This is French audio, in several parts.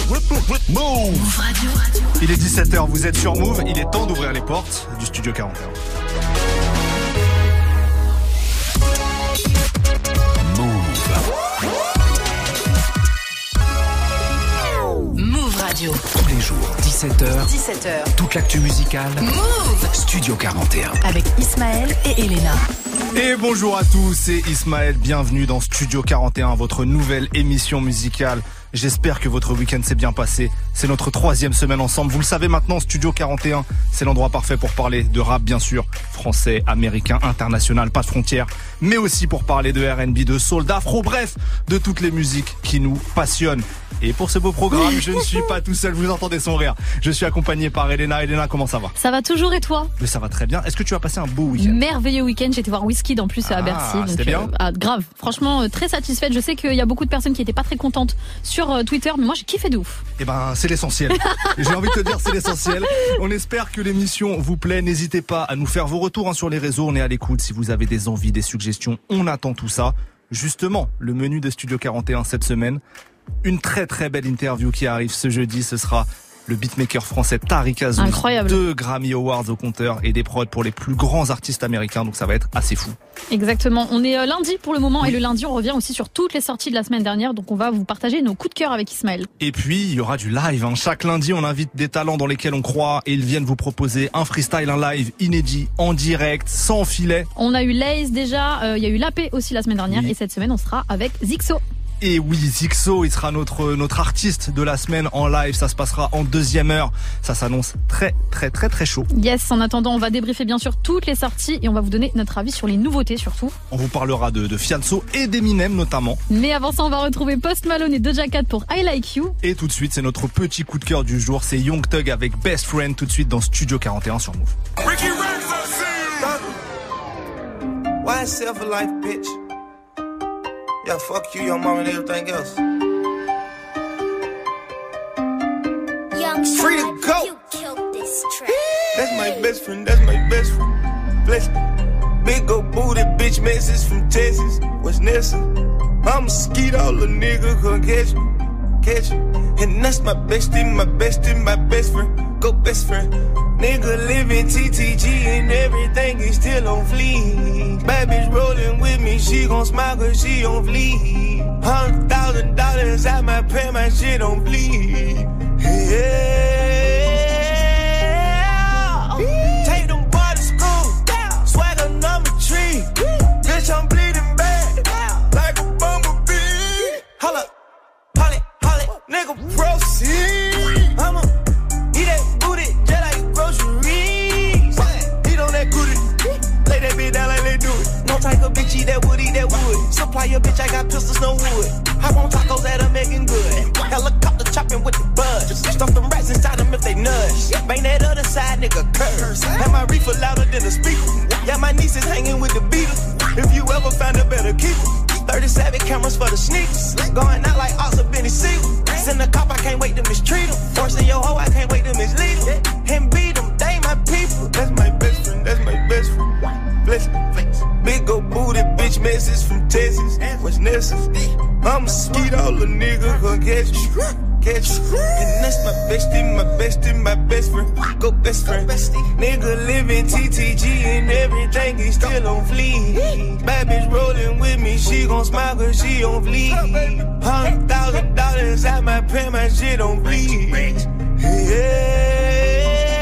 Move Radio. Il est 17h, vous êtes sur Move, il est temps d'ouvrir les portes du Studio 41. Move Radio. Tous les jours, 17h, toute l'actu musicale. Move Studio 41. avec Ismaël et Elena. Et bonjour à tous, c'est Ismaël, bienvenue dans Studio 41, votre nouvelle émission musicale. J'espère que votre week-end s'est bien passé. C'est notre 3e semaine ensemble. Vous le savez maintenant, Studio 41, c'est l'endroit parfait pour parler de rap, bien sûr. Français, américain, international, pas de frontières. Mais aussi pour parler de R&B, de soul, d'afro, bref, de toutes les musiques qui nous passionnent. Et pour ce beau programme, je ne suis pas tout seul, vous entendez son rire. Je suis accompagné par Elena. Elena, comment ça va ? Ça va toujours et toi ? Mais ça va très bien. Est-ce que tu as passé un beau week-end ? Merveilleux week-end, j'étais voir Wizkid en plus à Bercy. C'était bien ? Grave, franchement très satisfaite. Je sais qu'il y a beaucoup de personnes qui étaient pas très contentes sur Twitter, mais moi j'ai kiffé de ouf. Eh ben c'est l'essentiel. J'ai envie de te dire c'est l'essentiel. On espère que l'émission vous plaît. N'hésitez pas à nous faire vos retours sur les réseaux. On est à l'écoute. Si vous avez des envies, des suggestions, on attend tout ça. Justement, le menu de Studio 41 cette semaine. Une très très belle interview qui arrive ce jeudi, ce sera le beatmaker français Tariq Azouz. Incroyable. 2 Grammy Awards au compteur et des prods pour les plus grands artistes américains, donc ça va être assez fou. Exactement, on est lundi pour le moment et le lundi on revient aussi sur toutes les sorties de la semaine dernière, donc on va vous partager nos coups de cœur avec Ismaël. Et puis il y aura du live, Chaque lundi on invite des talents dans lesquels on croit et ils viennent vous proposer un freestyle, un live inédit, en direct, sans filet. On a eu Laze déjà, il y a eu Lapé aussi la semaine dernière et cette semaine on sera avec Zixo. Et oui, Zixo, il sera notre artiste de la semaine en live. Ça se passera en 2e heure. Ça s'annonce très, très, très, très chaud. Yes, en attendant, on va débriefer bien sûr toutes les sorties et on va vous donner notre avis sur les nouveautés surtout. On vous parlera de Fianso et d'Eminem notamment. Mais avant ça, on va retrouver Post Malone et Doja Cat pour I Like You. Et tout de suite, c'est notre petit coup de cœur du jour. C'est Young Thug avec Best Friend tout de suite dans Studio 41 sur Move. Why self a life, bitch? Yeah, fuck you, your mom, and everything else. Free to go. That's my best friend, that's my best friend. Bless me. Big old booty bitch message from Texas. What's Nessa? I'm a skeet, all the nigga come catch me. And that's my bestie, my bestie, my best friend. Go best friend. Nigga living TTG and everything is still on fleek. Bad bitch rolling with me, she gon' smile cause she on fleek. $100,000 out my pay, my shit on bleed. Yeah. Take them boys to school, swagger number 3. Bitch, I'm bleeding bad, like a bumblebee. Holla, holly, nigga proceed. I'ma eat that booty just like groceries. Eat on that booty, lay that bitch down like they do it. No type of bitch eat that wood, Supply your bitch, I got pistols, no wood. Hop on tacos that are making good. Helicopter chopping with the buzz. Stuff them rats inside them if they nudge. Bang that other side, nigga, curse. Have my reefer louder than a speaker. Yeah, my niece is hanging with the Beatles. If you ever find a better keeper. 37 cameras for the sneakers. Going out like Oscar Benny Siegel. Send a cop, I can't wait to mistreat him. Forcing your hoe, I can't wait to mislead him. And beat them, they my people. That's my best friend, that's my best friend. Bless me. Big old booty bitch message from Texas. What's Nessa? I'm a skeet, all the nigga gon' catch you. And that's my bestie, my best friend. Go best friend. Nigga living TTG and everything is still on fleek. Bad bitch rolling with me, she gon' smile cause she on fleek. $100,000 out my pay, my shit on bleed. Yeah.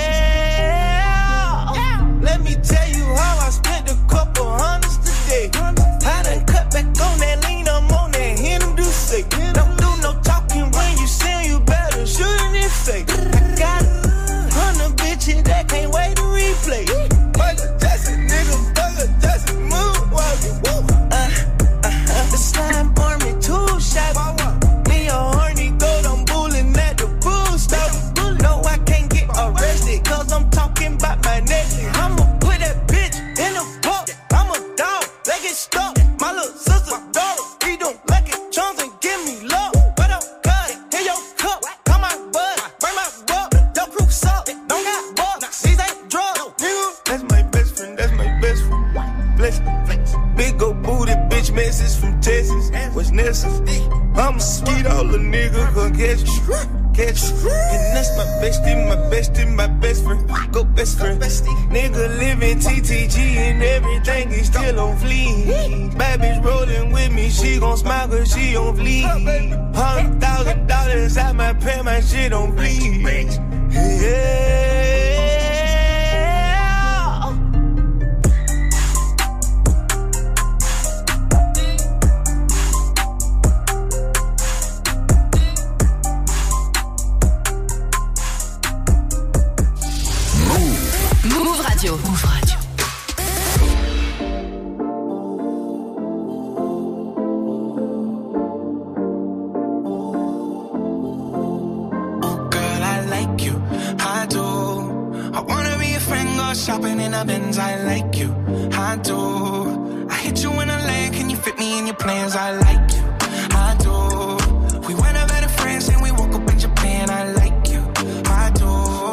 Let me tell you how I spent a couple hundreds today. I done cut back on that lean, I'm on that Henry Duce. Don't do no talking when you sing, you better shoot in his face. I got 100 bitches that can't wait to replay. Michael Jackson, nigga, Michael Jackson, moonwalking. The slime army, 2 shots. Me a horny goat, I'm bullying at the bull stop. No, I can't get arrested, cause I'm talking about my neck. I'ma put that bitch in a book. I'm a dog, they get stuck. My little sister, dog, he don't like it. Chums and give me love. But I'm good, hear your cup. Come my bud, bring my buck. Your crew suck, don't got bucks. These ain't drugs, nigga. That's my best friend, that's my best friend. Bless me. Big old booty bitch message from Texas. What's Nessa? I'm a skeet, all the nigga gon' catch you. catch you. And that's my bestie, my best friend. Go best friend. Nigga living TTG and everything is still on fleek. Bad bitch rolling with me, she gon' smile cause she on fleek. $100,000 out my pay, my shit on bleed. Yeah. Move Radio. Move Radio. Oh girl, I like you. I do. I wanna be a friend, go shopping in a Benz. I like you. I do. I hit you in a lane. Can you fit me in your plans? I like you. I do. We went over to France and we woke up in Japan. I like you. I do.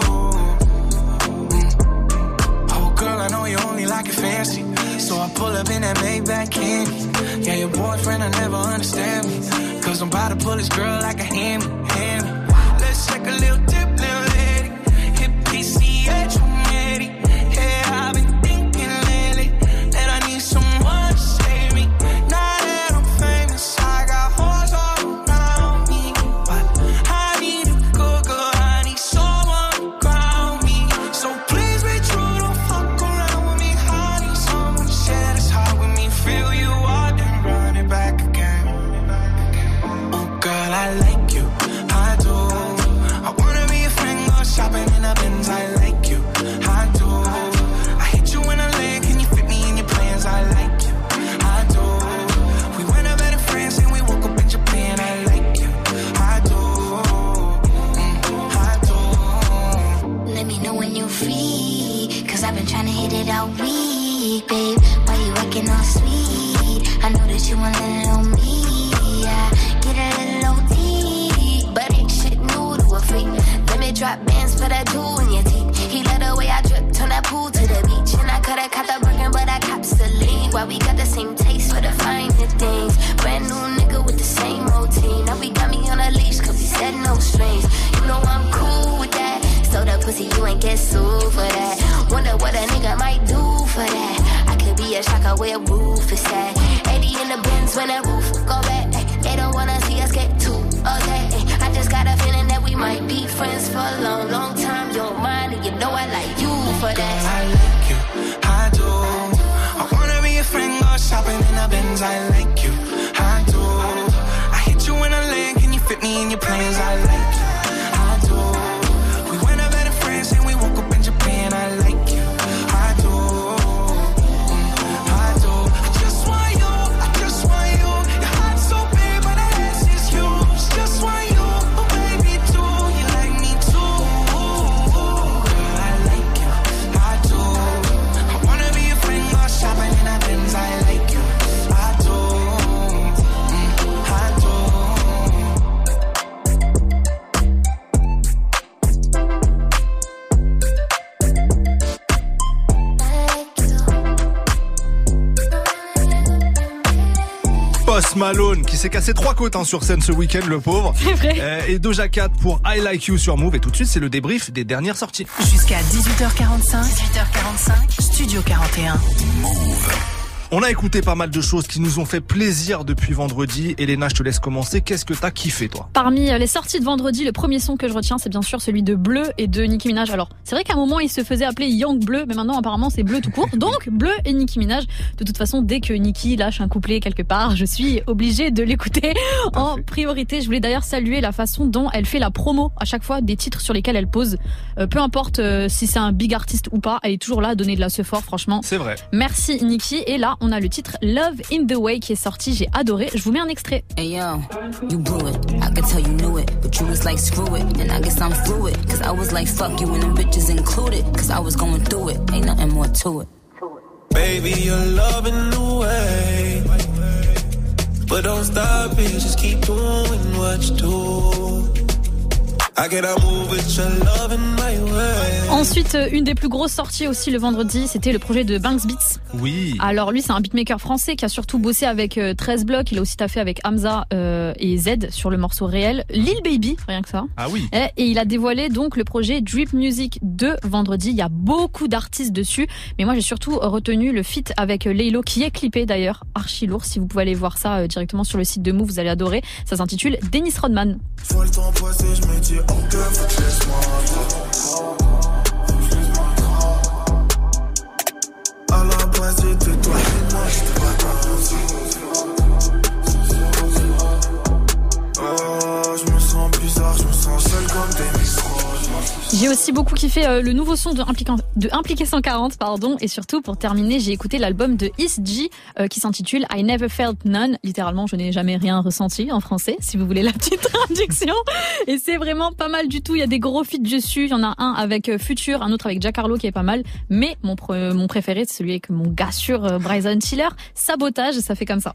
Girl, I know you only like it fancy, so I pull up in that Maybach candy. Yeah, your boyfriend, I never understand me, cause I'm about to pull this girl like a hammy. Let's take a little dip, little lady. Hit PCH, I'm ready. Yeah, I've been thinking lately that I need someone to save me. Now that I'm famous, I got hoes all around me, but I need a good girl, I need someone to ground me. So please be true. Feel you out and run it back again. Oh girl, I like you, I do. I wanna be a friend, go shopping in a Benz. I like you, I do. I hit you in a lane, can you fit me in your plans? I like you, I do. We went over to France and we woke up in Japan. I like you, I do. I do. Let me know when you're free, cause I've been trying to hit it all week, babe. Why you acting all sweet? I know that you want a little me, yeah. Get a little OT, but ain't shit new to a freak. Let me drop bands for that jewel in your teeth. He let the way I drip, turn that pool to the beach. And I coulda caught the Birkin, but I cops the lead. Why we got the same taste for the finer things. Brand new nigga with the same routine. Now we got me on a leash, cause he said no strings. You know I'm cool with that. So the pussy, you ain't get sued for that. Wonder what a nigga might do for that. I could be a shocker where a roof is at. 80 in the Benz when that roof go back. They don't wanna see us get too okay. I just got a feeling that we might be friends for a long, long time. You don't mind, and you know I like you for that. Girl, I like you, I do. I wanna be a friend, go shopping in a Benz. I like you, I do. I hit you in a lane, can you fit me in your plans? I like you, I do. We went over to France and we woke up in Japan. I like you, I do. I do. I just want you, I just want you. Your heart's so big, but the ass is huge. Just want you, oh baby, do you like me too? Girl, I like you, I do. I wanna be a friend, go shopping in a Benz. I like you, I do. I do. Post Malone qui s'est cassé 3 côtes sur scène ce week-end, le pauvre. C'est vrai. Et Doja Cat pour I Like You sur Move. Et tout de suite, c'est le débrief des dernières sorties. Jusqu'à 18h45, Studio 41. Move. On a écouté pas mal de choses qui nous ont fait plaisir depuis vendredi. Elena, je te laisse commencer. Qu'est-ce que t'as kiffé, toi? Parmi les sorties de vendredi, le premier son que je retiens, c'est bien sûr celui de Bleu et de Nicki Minaj. Alors, c'est vrai qu'à un moment, il se faisait appeler Young Bleu, mais maintenant, apparemment, c'est Bleu tout court. Donc, Bleu et Nicki Minaj. De toute façon, dès que Nicki lâche un couplet quelque part, je suis obligée de l'écouter en priorité. Je voulais d'ailleurs saluer la façon dont elle fait la promo à chaque fois des titres sur lesquels elle pose. Peu importe si c'est un big artiste ou pas, elle est toujours là à donner de la sephore, franchement. C'est vrai. Merci Nicki. Et là, on a le titre Love in the Way qui est sorti, j'ai adoré. Je vous mets un extrait. Hey yo, you blew it. I could tell you knew it, but you was like screw it. And I guess I'm fluid, cause I was like fuck you and them bitches included. Cause I was going through it, ain't nothing more to it. Baby, you're loving the way. But don't stop it, just keep doing what you do. Ensuite, une des plus grosses sorties aussi le vendredi, c'était le projet de Banks Beats. Oui. Alors lui, c'est un beatmaker français qui a surtout bossé avec 13 Block. Il a aussi taffé avec Hamza et Z sur le morceau Réel. Lil Baby, rien que ça. Ah oui. Et il a dévoilé donc le projet Drip Music 2 vendredi. Il y a beaucoup d'artistes dessus, mais moi j'ai surtout retenu le feat avec Laylo qui est clippé d'ailleurs, archi lourd. Si vous pouvez aller voir ça directement sur le site de Move, vous allez adorer. Ça s'intitule Dennis Rodman. Faut le temps passer, je me dis ok, faut que je laisse-moi à la base c'était toi et moi j'étais pas je me sens bizarre, je me sens seul comme des micros. J'ai aussi beaucoup kiffé le nouveau son de Impliqué 140, pardon, et surtout pour terminer, j'ai écouté l'album de East G qui s'intitule I Never Felt None. Littéralement, je n'ai jamais rien ressenti en français, si vous voulez la petite traduction. Et c'est vraiment pas mal du tout. Il y a des gros feats dessus. Il y en a un avec Future, un autre avec Jack Harlow qui est pas mal. Mais mon préféré, c'est celui avec mon gars sûr, Bryson Tiller. Sabotage, ça fait comme ça.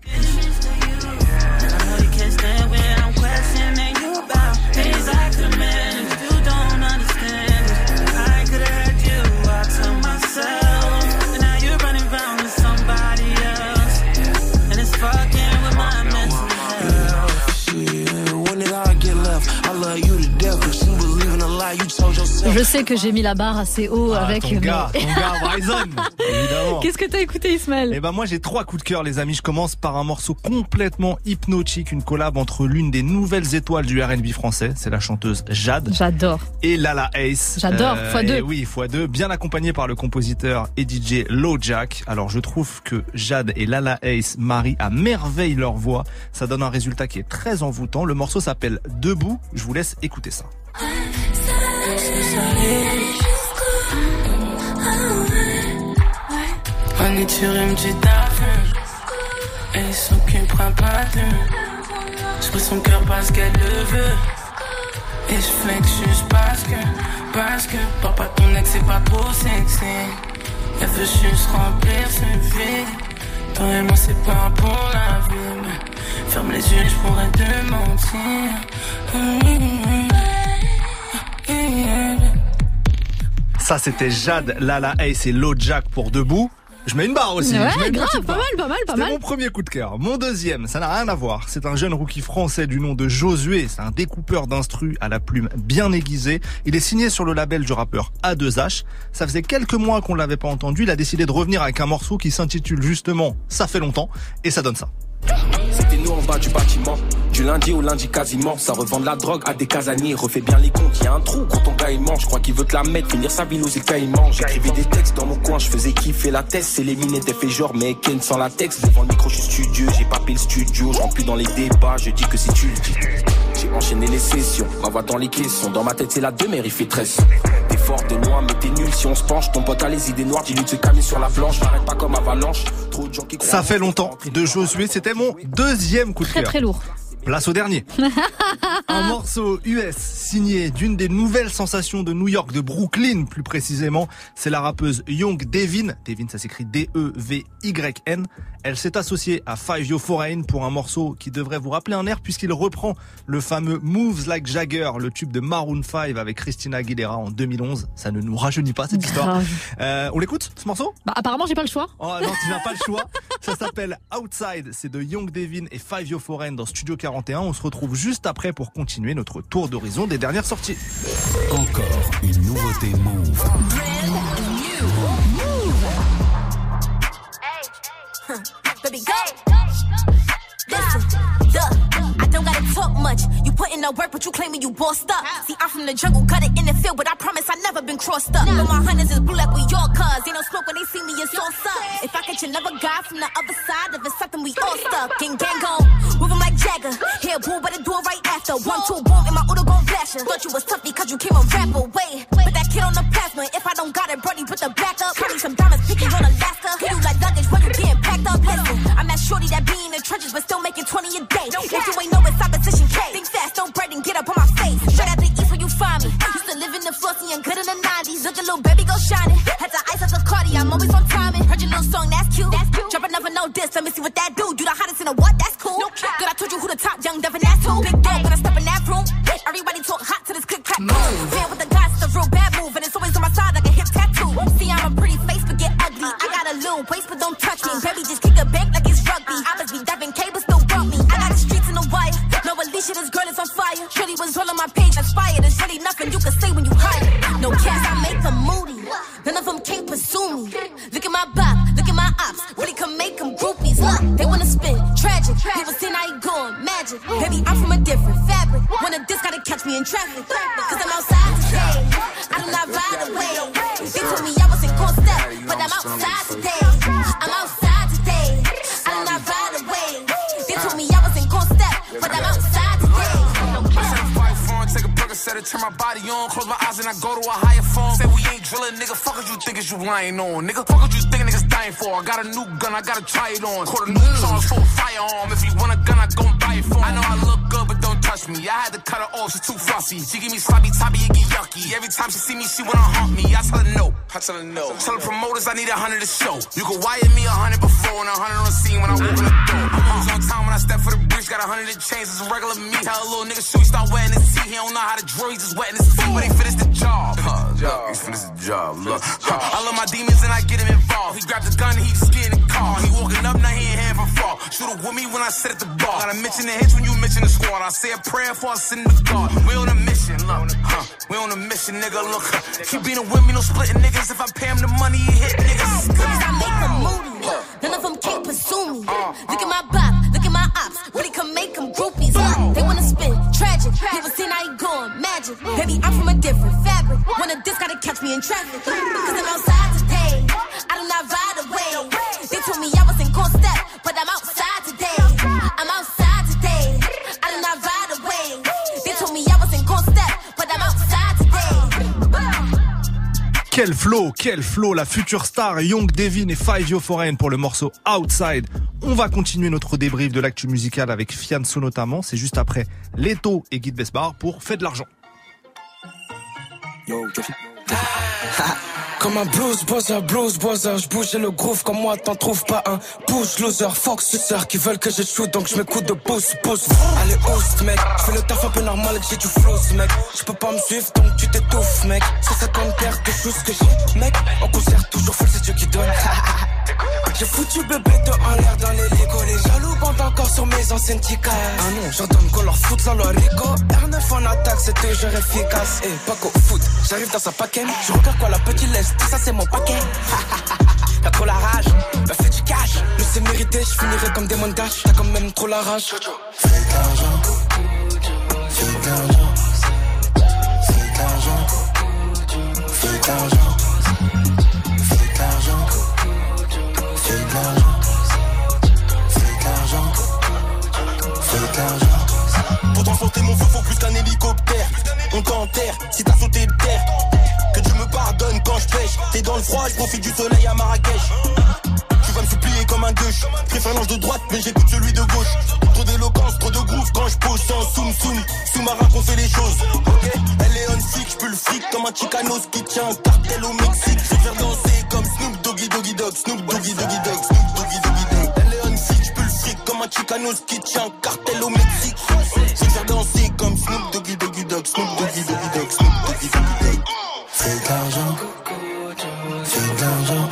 Je sais que j'ai mis la barre assez haut avec ton gars Bryson, évidemment. Qu'est-ce que t'as écouté, Ismaël? Eh ben moi j'ai 3 coups de cœur, les amis. Je commence par un morceau complètement hypnotique, une collab entre l'une des nouvelles étoiles du R&B français, c'est la chanteuse Jade. J'adore. Et Lala Ace. J'adore, x2. Oui, x2, bien accompagné par le compositeur et DJ LoJack. Alors je trouve que Jade et Lala Ace marient à merveille leur voix. Ça donne un résultat qui est très envoûtant. Le morceau s'appelle Debout. Je vous laisse écouter ça. On est sur une petite affaire et il s'occupera pas de. Je prie son cœur parce qu'elle le veut. Et je flex juste parce que papa ton ex c'est pas trop sexy. Elle veut juste remplir ce vide. Toi et moi c'est pas pour la vie, mais ferme les yeux, je pourrais te mentir. Ça c'était Jade, Lala Ace et LoJack pour Debout. Je mets une barre aussi. Ouais, grave, pas mal. C'est mon premier coup de cœur. Mon deuxième, ça n'a rien à voir. C'est un jeune rookie français du nom de Josué. C'est un découpeur d'instru à la plume bien aiguisée. Il est signé sur le label du rappeur A2H. Ça faisait quelques mois qu'on l'avait pas entendu. Il a décidé de revenir avec un morceau qui s'intitule justement Ça fait longtemps. Et ça donne ça. C'était nous en bas du bâtiment, du lundi au lundi quasiment. Ça revend de la drogue à des casaniers, refait bien les comptes. Y'a un trou quand ton gars il mange, je crois qu'il veut te la mettre, finir sa vie aux caïmans. J'écrivais des textes dans mon coin, je faisais kiffer la test. C'est les mines étaient fait genre mais Ken sans la texte. Devant le micro je suis studieux, j'ai pas payé le studio. J'en plus dans les débats, je dis que si tu le dis. J'ai enchaîné les sessions, ma voix dans les caissons. Dans ma tête c'est la demeure, il fait 13. T'es fort de loin mais t'es nul si on se penche. Ton pote a les idées noires, dis-lui de se calmer sur la planche. J'arrête pas comme Avalanche. Trop de gens qui Ça fait longtemps de Josué, c'était mon deuxième coup de cœur. Très lourd. Place au dernier. Un morceau US signé d'une des nouvelles sensations de New York, de Brooklyn plus précisément. C'est la rappeuse Young Devin. Devin, ça s'écrit D-E-V-Y-N. Elle s'est associée à Five Yo Foreign pour un morceau qui devrait vous rappeler un air puisqu'il reprend le fameux Moves Like Jagger, le tube de Maroon 5 avec Christina Aguilera en 2011. Ça ne nous rajeunit pas cette histoire. On l'écoute ce morceau? Bah apparemment j'ai pas le choix. Oh non, tu n'as pas le choix. Ça s'appelle Outside, c'est de Young Devin et Five Yo Foreign dans Studio 41. On se retrouve juste après pour continuer notre tour d'horizon des dernières sorties. Encore une nouveauté Move. Baby, go. Listen, I don't gotta talk much. You put in the work, but you claiming you bossed up. See, I'm from the jungle, got it in the field, but I promise I never been crossed up. But my hunters is blue like we your cuz. They don't smoke when they see me, it's all up. If I catch another guy from the other side, if it's something we all stuck. Gang gone, move him like Jagger. Here, boo, better do it right after. 1, 2, boom, and my Udo gon' flash ya. Thought you was tough because you came a rapper. Wait, put that kid on the plasma. If I don't got it, Brody, put the back up. Call me some diamonds, picking on Alaska. Hit you like luggage when you getting packed up. Listen, I'm that shorty that be in the trenches, but still making 20 a day. If you ain't know it's opposition K. Think fast, don't break and get up on my face. Straight out the east where you find me. Used to live in the flossy and good in the 90s. Look a little baby go shining. Had to ice up the Cardi, I'm always on timing. Heard your little song, that's cute. Drop another no diss, let me see what that do. You the hottest in the what? That's cool. Good, I told you who the top, Young Devin, that's who. Big dog when I step in that room. Everybody talk hot to this click clack. was all on my page inspired. There's really nothing you can say when you hide. No cash, I make them moody. None of them can't pursue me. Look at my bop, look at my ops. Really can make them groupies. Look, they wanna spin, tragic. Never seen how you going, magic. Baby, I'm from a different fabric. Wanna diss, gotta catch me in traffic. Cause I'm outside today. I do not ride away. They told me I wasn't gon' step, but I'm outside today. I'm outside today. I do not ride away. They told me I wasn't gon' step, but I'm outside today. Take a Percocet and turn my body on. Close my eyes and I go to a higher form. Say we ain't drilling, nigga. Fuck what you think is you lying on, nigga. Fuck what you think niggas dying for. I got a new gun, I gotta try it on. Caught a new charge for a firearm. If you want a gun, I gon' buy it for him. I know I look good, but don't touch me. I had to cut her off, she's too fussy. She give me sloppy toppy, it get yucky. Every time she see me, she wanna hump me. I tell her no. Tell the promoters I need 100 to show. You can wire me 100 before and 100 on the scene when I walk in the door. I'm on time when I step for the bridge. Got 100 in chains, it's a regular me. How a little nigga shoot, he start wetting his seat. He don't know how to drill, he just wetting his feet. But he finish the job. Look, he finish the job. Look, I love my demons and I get him involved. He grabbed the gun and he scared in the car. He walking up, now he ain't hand for fall. Shoot up with me when I sit at the bar. Gotta mention the hits when you mention the squad. I say a prayer before I send the guard. We on a mission, look, we on a mission, nigga, look. Keep being with me, no splitting niggas. If I pay him the money, he hit niggas. I make them moody. None of them can't pursue me. Look at my bop, look at my ops. Really can make them groupies. Look, they wanna spin, tragic. Never seen how you going, magic. Baby, I'm from a different fabric. Wanna diss, gotta catch me in traffic. Cause I'm outside today. I do not ride away. They told me I wasn't gon' step, but I'm outside today. I'm outside today. I do not ride away. They told me I wasn't gon' step, but I'm outside today. Quel flow, la future star Young Devin et Fivio Foreign pour le morceau Outside. On va continuer notre débrief de l'actu musicale avec Fianso notamment, c'est juste après Leto et Guy Besbar pour Fait de l'argent. Yo, comme un blues buzzer, j'bouge et le groove comme moi t'en trouves pas un. Bouge loser, fuck suceur qui veulent que je shoot donc j'm'écoute de boost. Allez host mec, j'fais le taf un peu normal que j'ai du flow mec. J'peux pas me suivre donc tu t'étouffes mec. C'est 50 paires de choses que j'ai mec. En concert toujours full c'est Dieu qui donne. J'ai foutu bébé de en l'air dans les Lego. Les jaloux bandent encore sur mes anciennes ticas. Ah non, j'entends qu'on leur fout dans leur ego. R9 en attaque, c'est toujours efficace. Et pas qu'au foot, j'arrive dans sa paquet. Je regarde quoi la petite laisse, tout ça c'est mon paquet. T'as trop la rage, bah fais du cash. Je sais mériter, je finirai comme des montages. T'as quand même trop la rage. Fais de l'argent, fais de l'argent, fais de l'argent, fais de l'argent. Pour transporter mon feu, faut plus qu'un hélicoptère. On t'enterre si t'as sauté de terre. Que Dieu me pardonne quand je pêche. T'es dans le froid, je profite du soleil à Marrakech. Tu vas me supplier comme un gauche. Je préfère l'ange de droite, mais j'écoute celui de gauche. Trop d'éloquence, trop de groove quand je pose sans soum. Sous-marin qu'on fait les choses. Ok, elle est on flic, je peux le fric comme un Chicanos qui tient un cartel au Mexique. Je vais faire danser comme Snoop Doggy Doggy Dog. Snoop Doggy Doggy Dog. Snoop Doggy Doggy Dog. Elle est on flic, je peux le fric comme un Chicanos qui tient un cartel au Mexique. Je vais faire danser comme Snoop Doggy Doggy Dog. Snoop Doggy Doggy Dog. Snoop Doggy Doggy Dog. Fais de l'argent, fais de l'argent.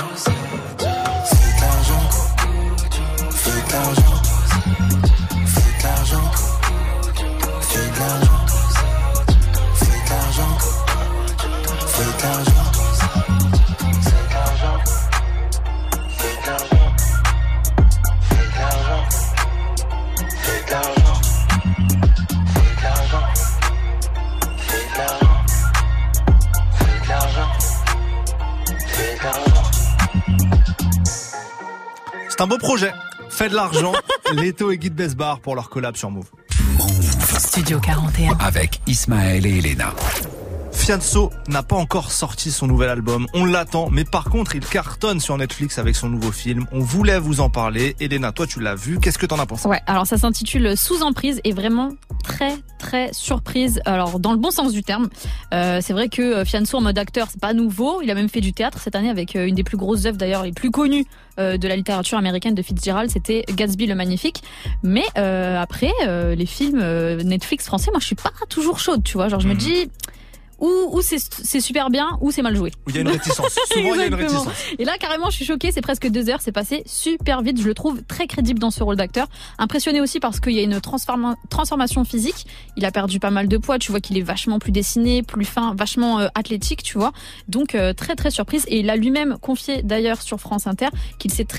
C'est un beau projet. Fait de l'argent. Leto et Guy Besbar pour leur collab sur Move. Studio 41 avec Ismaël et Elena. Fianso n'a pas encore sorti son nouvel album, on l'attend, mais par contre il cartonne sur Netflix avec son nouveau film. On voulait vous en parler. Elena, toi tu l'as vu, qu'est-ce que t'en as pensé? Ouais, alors ça s'intitule Sous emprise et vraiment très surprise, alors dans le bon sens du terme. C'est vrai que Fianso en mode acteur c'est pas nouveau, il a même fait du théâtre cette année avec une des plus grosses œuvres d'ailleurs les plus connues de la littérature américaine de Fitzgerald, c'était Gatsby le Magnifique. Mais après les films Netflix français, moi je suis pas toujours chaude, tu vois, genre je me dis ou c'est super bien, ou c'est mal joué. Il y a une réticence. Souvent, il y a une réticence. Et là, carrément, je suis choquée. C'est presque 2 heures. C'est passé super vite. Je le trouve très crédible dans ce rôle d'acteur. Impressionné aussi parce qu'il y a une transformation physique. Il a perdu pas mal de poids. Tu vois qu'il est vachement plus dessiné, plus fin, vachement athlétique, tu vois. Donc, très, très surprise. Et il a lui-même confié, d'ailleurs, sur France Inter, qu'il s'est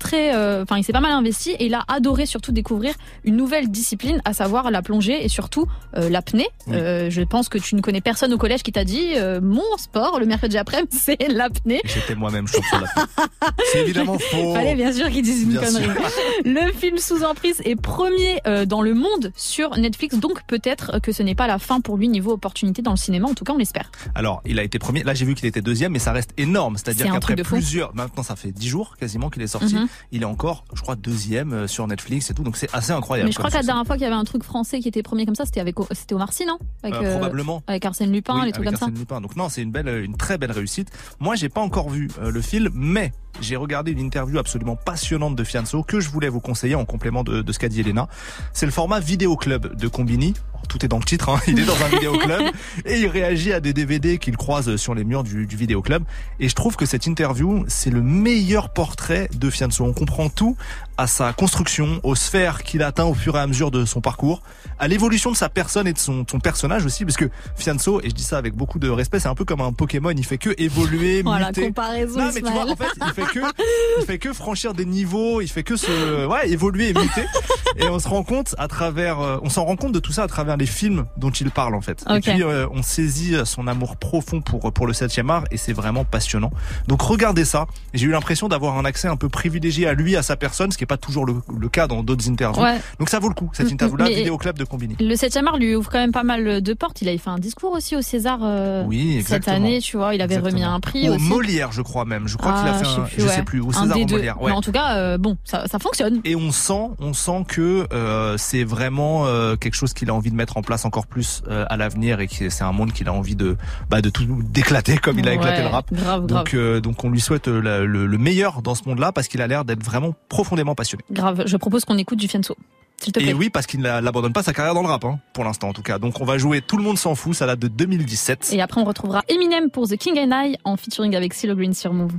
il s'est pas mal investi et il a adoré surtout découvrir une nouvelle discipline, à savoir la plongée et surtout l'apnée. Oui. Je pense que tu ne connais personne au collège qui t'a dit mon sport le mercredi après-midi, c'est l'apnée. J'étais moi-même chaud sur l'apnée. C'est évidemment faux. Fallait bien sûr qu'ils disent une connerie. Le film Sous emprise est premier dans le monde sur Netflix, donc peut-être que ce n'est pas la fin pour lui niveau opportunité dans le cinéma, en tout cas on l'espère. Alors, il a été premier. Là, j'ai vu qu'il était deuxième, mais ça reste énorme. C'est-à-dire qu'après maintenant ça fait 10 jours quasiment qu'il est sorti. Il est encore, je crois, deuxième sur Netflix et tout. Donc c'est assez incroyable. Mais je crois que la dernière fois qu'il y avait un truc français qui était premier comme ça, c'était Omar Sy, non? Probablement. Avec Arsène Lupin, les trucs comme ça. Lupin. Donc non, c'est une très belle réussite. Moi, j'ai pas encore vu le film, mais j'ai regardé une interview absolument passionnante de Fianso que je voulais vous conseiller en complément de ce qu'a dit Elena. C'est le format vidéo club de Combini. Tout est dans le titre, hein. Il est dans un vidéoclub et il réagit à des DVD qu'il croise sur les murs du vidéoclub. Et je trouve que cette interview, c'est le meilleur portrait de Fianso. On comprend tout à sa construction, aux sphères qu'il atteint au fur et à mesure de son parcours, à l'évolution de sa personne et de son personnage aussi, parce que Fianso, et je dis ça avec beaucoup de respect, c'est un peu comme un Pokémon, il fait que évoluer, muter. La comparaison. Non, mais tu vois, en fait, il fait que franchir des niveaux, il fait que évoluer et muter. Et on s'en rend compte de tout ça à travers les films dont il parle en fait. Okay. Et puis on saisit son amour profond pour le 7e art et c'est vraiment passionnant. Donc regardez ça. J'ai eu l'impression d'avoir un accès un peu privilégié à lui, à sa personne, ce qui est pas toujours le cas dans d'autres interviews. Ouais. Donc ça vaut le coup cette interview-là, vidéoclub de Combini. Le 7e art lui ouvre quand même pas mal de portes. Il avait fait un discours aussi au César cette année, tu vois. Il avait remis un prix au aussi. Molière, je crois même. Je crois qu'il a fait je sais plus, au César ou Molière. Ouais. Mais en tout cas, ça fonctionne. Et on sent que c'est vraiment quelque chose qu'il a envie de mettre en place encore plus à l'avenir et que c'est un monde qu'il a envie de tout d'éclater comme il a éclaté le rap. Grave. Donc on lui souhaite le meilleur dans ce monde-là parce qu'il a l'air d'être vraiment profondément passionné. Grave, je propose qu'on écoute du Fianso. S'il te plaît. Et oui, parce qu'il n'abandonne pas sa carrière dans le rap, hein, pour l'instant en tout cas. Donc on va jouer Tout le monde s'en fout, ça date de 2017. Et après on retrouvera Eminem pour The King and I en featuring avec CeeLo Green sur Move.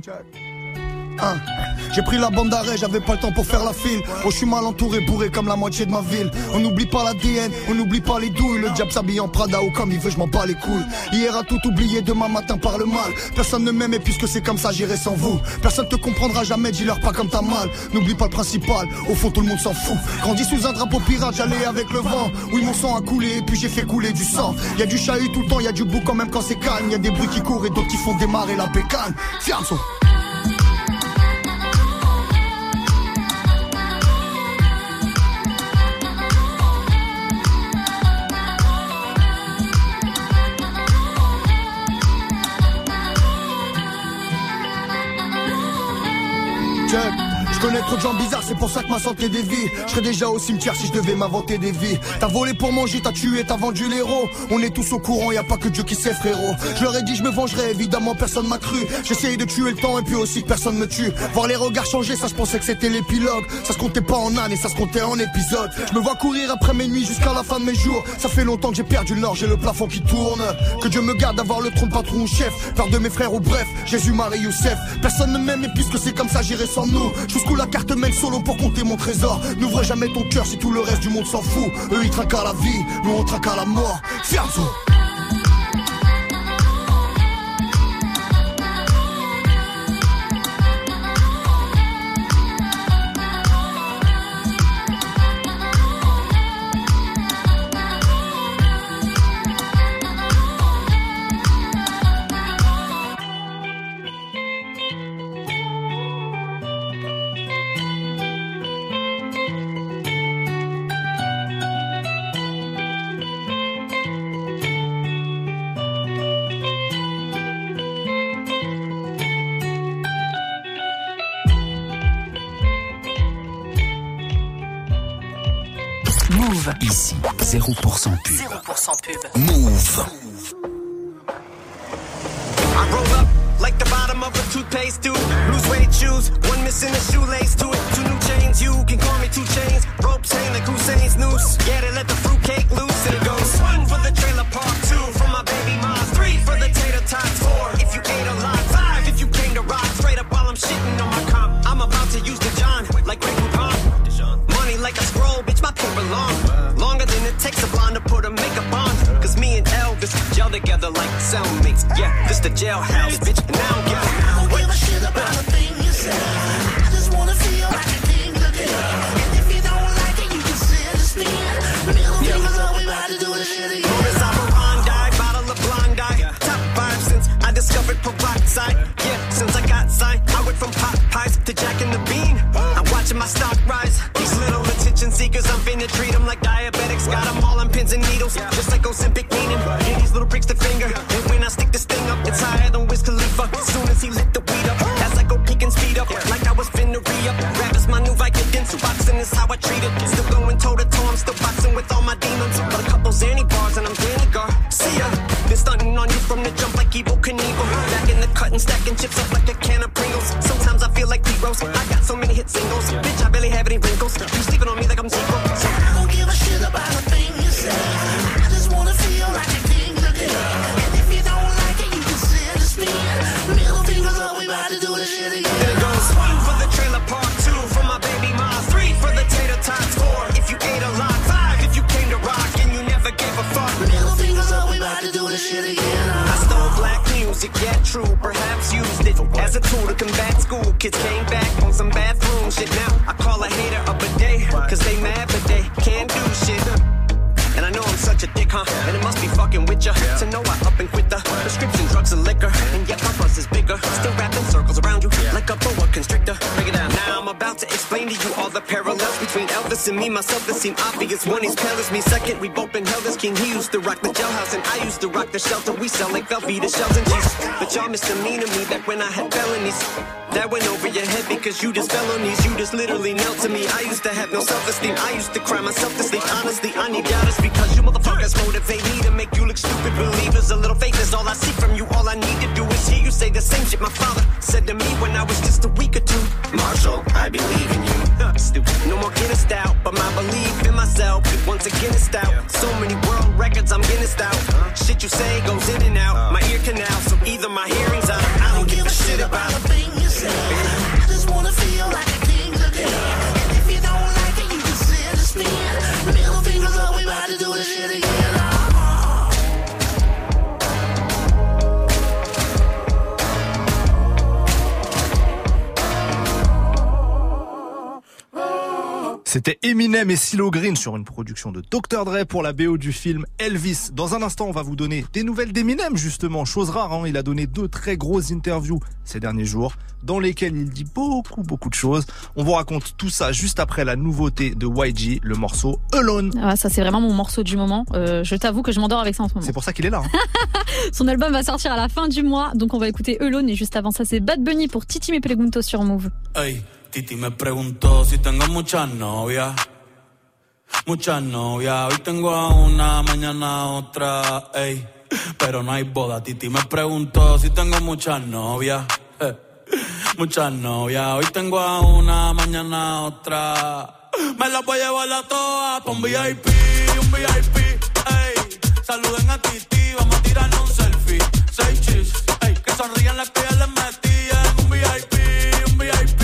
J'ai pris la bande d'arrêt, j'avais pas le temps pour faire la file. Oh, je suis mal entouré, bourré comme la moitié de ma ville. On n'oublie pas l'ADN, on n'oublie pas les douilles. Le diable s'habille en Prada ou comme il veut, je m'en bats les couilles. Hier a tout oublié, demain matin par le mal. Personne ne m'aime et puisque c'est comme ça, j'irai sans vous. Personne te comprendra jamais, dis-leur pas comme t'as mal. N'oublie pas le principal, au fond tout le monde s'en fout. Grandi sous un drapeau pirate, j'allais avec le vent. Oui, mon sang a coulé et puis j'ai fait couler du sang. Y'a du chahut tout le temps, y'a du bouc quand même quand c'est calme. Y'a des bruits qui courent et d'autres qui font démarrer la bécane. Fianso. Je connais trop de gens bizarres, c'est pour ça que ma santé dévie. Je serais déjà au cimetière si je devais m'inventer des vies. T'as volé pour manger, t'as tué, t'as vendu l'héros. On est tous au courant, y a pas que Dieu qui sait frérot. Je leur ai dit je me vengerai, évidemment personne m'a cru. J'essayais de tuer le temps et puis aussi que personne me tue. Voir les regards changer, ça je pensais que c'était l'épilogue. Ça se comptait pas en années, ça se comptait en épisodes. Je me vois courir après mes nuits jusqu'à la fin de mes jours. Ça fait longtemps que j'ai perdu le nord, j'ai le plafond qui tourne. Que Dieu me garde d'avoir le trône patron ou chef. Peur de mes frères ou bref, Jésus, Marie, Youssef. Personne ne m'aime et puisque c'est comme ça j'irai sans nous. Jusqu'où la carte mène solo pour compter mon trésor. N'ouvre jamais ton cœur si tout le reste du monde s'en fout. Eux ils trinquent à la vie, nous on trinque à la mort. Fianso. Move. Ici, 0% pub. 0% pub. Move. I roll up like the bottom of a toothpaste tube. Blue suede shoes, one missing a shoelace to it. 2 new chains, you can call me 2 chains. Ropes hang like Hussein's noose. Yeah, they let the fruitcake loose and it goes 1 for the trailer park, 2 for my baby mom, 3 Let's gel together like cellmates. Yeah, this the jailhouse, bitch. And now I'm getting I don't give a shit about a thing you say. I just wanna feel like a king again. And if you don't like it, you can sit and spin. Middle fingers up, we about to do this shit again. Moments operandi, bottle of blonde eye. Top 5 since I discovered peroxide. Yeah, since I got signed, I went from pot pies to Jack and the Bean. I'm watching my stock rise. These little attention seekers, I'm finna treat them like diabetics. Got them all on pins and needles, just like Ozempic meaning. Yeah, these little pricks the finger. And when I stick this thing up, it's higher than Wiz Khalifa. Soon as he lit the weed up, as I go peek and speed up, like I was finna re-up. Rap is my new Vicodin, so boxing is how I treat it. Still going toe to toe, I'm still boxing with all my demons. But a couple Zanny bars and I'm Danny Gar. See ya. Been stunting on you from the jump like Evel Knievel. Back in the cut and stacking chips up like a can of Pringles. Sometimes I feel like P-Rose. I got so many hit singles. Bitch, I barely have any wrinkles. You sleeping on me like I'm Zico. So I don't give a shit about a thing you say. I just wanna feel like a king again. And if you don't like it, you can sit and spin. Middle fingers up, we about to do this shit again. Then it goes 1 for the trailer park, 2 for my baby mom, 3 for the tater tots, 4 if you ate a lot, 5 if you came to rock and you never gave a fuck. Middle fingers up, we about to do this shit again. I stole black music, yeah true, perhaps used it as a tool to combat school. Kids came back on some bathroom shit. Now I call a hater a bidet, cause they mad but they can't do shit. And I know I'm such a dick, huh? And it must be fucking with ya to know I up and quit the prescription drugs and liquor. And yet my buzz is bigger, still wrapping circles around you like a boa constrictor. Break it down. Now I'm about to explain to you all the parallels between Elvis and me. Myself that seem obvious. One, he's pale as me. Second, we both been held as king. He used to rock the jailhouse and I used to rock the shelter. We sell like Velveeta shells and cheese. But y'all misdemeanor me back when I had felonies. That went over your head because you just fell on these. You just literally knelt to me. I used to have no self-esteem. I used to cry myself to sleep. Honestly, I need guidance because you motherfuckers motivate me to make you look stupid. Believers, a little fake is all I see from you. All I need to do is hear you say the same shit my father said to me when I was just a week or two. Marshall, I believe in you. Stupid. No more Guinness out, but my belief in myself is once again it's out. So many world records, I'm Guinness out. Shit you say goes in and out. My ear canal, so either my hearing's out. I don't give a shit about a thing you say. I just wanna feel like a king again. And if you don't like it, you can sit and spin. Middle fingers up, we about to do this shit again. C'était Eminem et CeeLo Green sur une production de Dr. Dre pour la BO du film Elvis. Dans un instant, on va vous donner des nouvelles d'Eminem, justement. Chose rare, hein, il a donné 2 très grosses interviews ces derniers jours, dans lesquelles il dit beaucoup de choses. On vous raconte tout ça juste après la nouveauté de YG, le morceau Alone. Ah, ça, c'est vraiment mon morceau du moment. Je t'avoue que je m'endors avec ça en ce moment. C'est pour ça qu'il est là. Hein. Son album va sortir à la fin du mois, donc on va écouter Alone. Et juste avant ça, c'est Bad Bunny pour Titi Me Pregunto sur Move. Hey. Titi me preguntó si tengo muchas novias. Muchas novias. Hoy tengo a una, mañana a otra. Ey, pero no hay boda. Titi me preguntó si tengo muchas novias. Muchas novias. Hoy tengo a una, mañana a otra. Me las voy a llevar a todas pa' un VIP, un VIP. Ey, saluden a Titi, vamos a tirarle un selfie. 6 chis, ey, que sonrían las que ya les metí en un VIP, un VIP.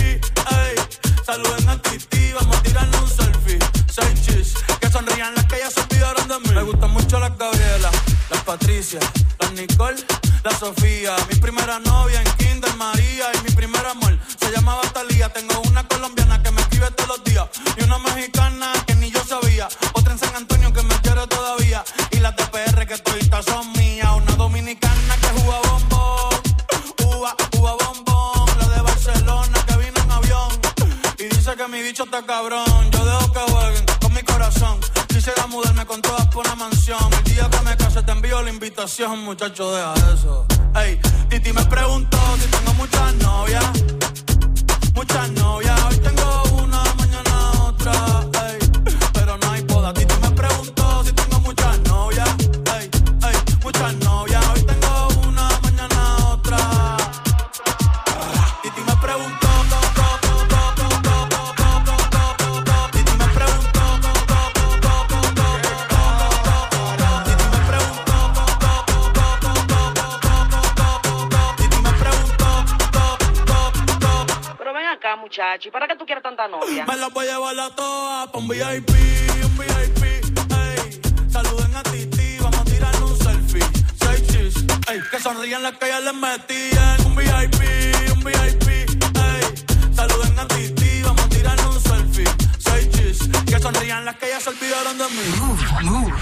Saluden a Titi, vamos a tirarle un selfie. 6 chis, que sonrían las que ya se olvidaron de mí. Me gustan mucho las Gabriela, las Patricia, las Nicole, la Sofía. Mi primera novia en Kinder María y mi primer amor se llamaba Talía. Tengo una colombiana que me escribe todos los días y una mexicana que ni yo sabía. Otra en San Antonio que me quiere todavía y las de PR que toditas son mías. Una dominicana que juega bombón, uva bombón. La de Barcelona que vino en avión y dice que mi bicho está cabrón. Yo dejo que jueguen con mi corazón. Quisiera mudarme con todas por una mansión. El día que me case te envío la invitación, muchacho, deja eso. Ey, Titi me preguntó si tengo muchas novias. Muchas novias, hoy tengo una, mañana otra. Ey, pero no hay boda. Titi me preguntó si tengo muchas novias. Ey, muchas novias, hoy tengo una, mañana otra. Titi me preguntó. Muchacho, ¿y para qué tú quieres tanta novia? Me las voy a llevar a todas pa' un VIP, un VIP. Ey, saluden a Titi, vamos a tirarle un selfie. sonrían las que ya les metían. Un VIP, ey. Saluden a Titi, vamos a tirar un selfie. 6 chis, que sonrían las que ya se olvidaron de mí. Move.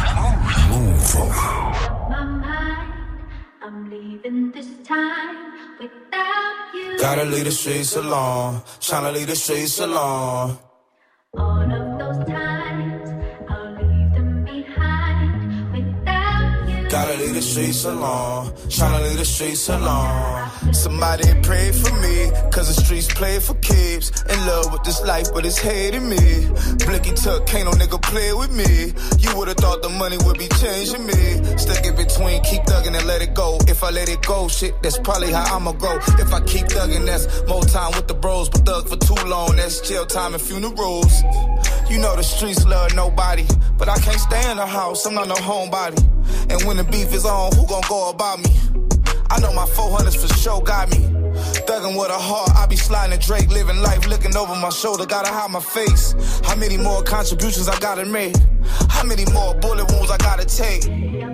I'm leaving this time without you. Gotta leave the streets alone, tryna leave the streets alone. All of those times, I'll leave them behind without you. Gotta leave the streets alone, tryna leave the streets alone. Somebody pray for me, cause the streets play for keeps. In love with this life, but it's hating me. Blicky tuck, can't no nigga play with me. You would've thought the money would be changing me. Stuck in between, keep thugging and let it go. If I let it go, shit, that's probably how I'ma go. If I keep thugging, that's more time with the bros. But thug for too long, that's jail time and funerals. You know the streets love nobody, but I can't stay in the house, I'm not no homebody. And when the beef is on, who gon' go about me? I know my 400s for sure got me. Thuggin' with a heart, I be sliding Drake, living life, looking over my shoulder, gotta hide my face. How many more contributions I gotta make? How many more bullet wounds I gotta take?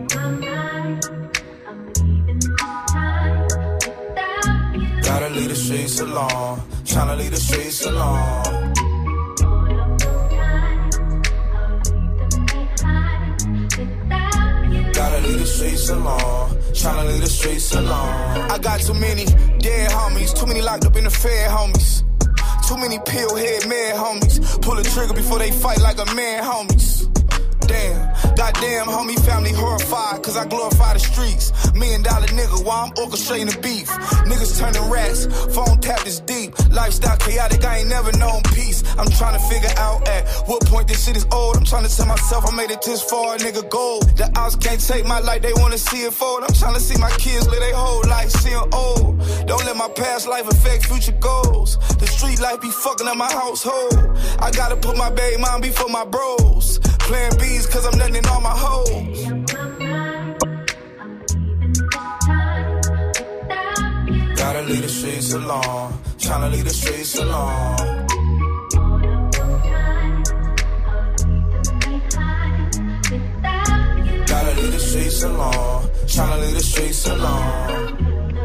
Gotta leave the streets alone, tryna leave the streets alone. Gotta leave the streets alone, tryna leave the streets alone. I got too many dead homies, too many locked up in the Fed homies. Too many pill head mad homies. Pull the trigger before they fight like a man homies. Damn, goddamn homie, family horrified, cause I glorify the streets. $1 million nigga while I'm orchestrating the beef. Niggas turning rats, phone tap is deep. Lifestyle chaotic, I ain't never known peace. I'm trying to figure out at what point this shit is old. I'm trying to tell myself I made it this far, nigga, gold. The odds can't take my life, they wanna see it fold. I'm trying to see my kids live their whole life, seeing old. Don't let my past life affect future goals. The street life be fucking up my household. I gotta put my baby mom before my bros. Playing B's cause I'm nothing in all my hoes. Gotta leave the streets alone, tryna leave the streets alone. Gotta leave the streets alone, tryna leave the streets alone.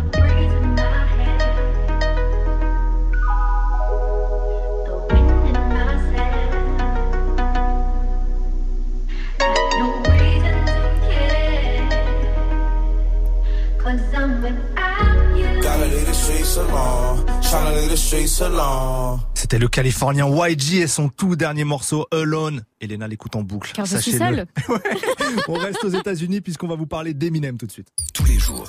C'était le Californien YG et son tout dernier morceau Alone. Elena l'écoute en boucle. Car je suis seule. Ouais. On reste aux États-Unis puisqu'on va vous parler d'Eminem tout de suite. Tous les jours,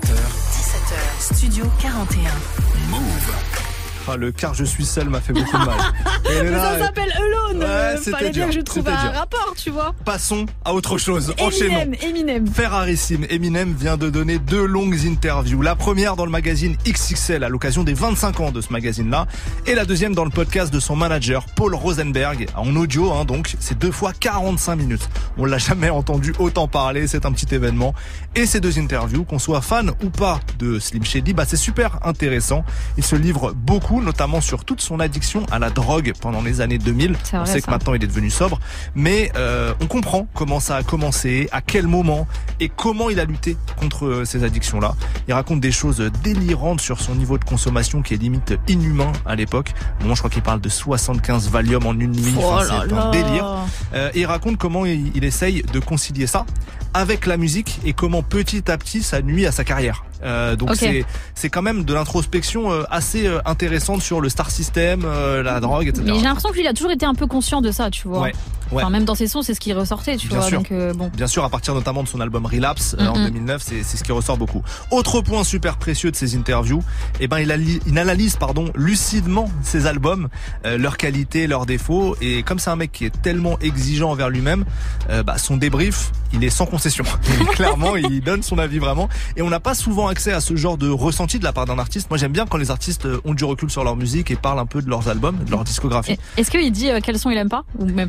17h. Studio 41. Move. Ah, le car je suis seul m'a fait beaucoup de mal. Mais ça s'appelle Alone. Fallait bien que je trouve un rapport, tu vois. Passons à autre chose. Enchaînons. Eminem. Fait rarissime. Eminem vient de donner 2 longues interviews. La première dans le magazine XXL à l'occasion des 25 ans de ce magazine-là. Et la deuxième dans le podcast de son manager, Paul Rosenberg. En audio, donc. C'est 2 fois 45 minutes. On l'a jamais entendu autant parler. C'est un petit événement. Et ces 2 interviews, qu'on soit fan ou pas de Slim Shady, c'est super intéressant. Il se livre beaucoup, notamment sur toute son addiction à la drogue pendant les années 2000. On sait que maintenant il est devenu sobre, mais on comprend comment ça a commencé, à quel moment et comment il a lutté contre ces addictions-là. Il raconte des choses délirantes sur son niveau de consommation qui est limite inhumain à l'époque. Moi, je crois qu'il parle de 75 Valium en une nuit. C'est un délire. Et il raconte comment il essaye de concilier ça avec la musique et comment petit à petit ça nuit à sa carrière. Donc c'est quand même de l'introspection assez intéressante sur le star system, la drogue, etc. Mais j'ai l'impression que lui il a toujours été un peu conscient de ça, tu vois. Ouais. Enfin, même dans ses sons, c'est ce qui ressortait, tu vois. Sûr. Donc, bon. Bien sûr, à partir notamment de son album Relapse en 2009, c'est ce qui ressort beaucoup. Autre point super précieux de ses interviews, il analyse lucidement ses albums, leur qualité, leurs défauts, et comme c'est un mec qui est tellement exigeant envers lui-même, son débrief, il est sans concession. Clairement, il donne son avis vraiment, et on n'a pas souvent accès à ce genre de ressenti de la part d'un artiste. Moi, j'aime bien quand les artistes ont du recul sur leur musique et parlent un peu de leurs albums, de leur discographie. Est-ce qu'il dit quels sons il aime pas ou même pas? Il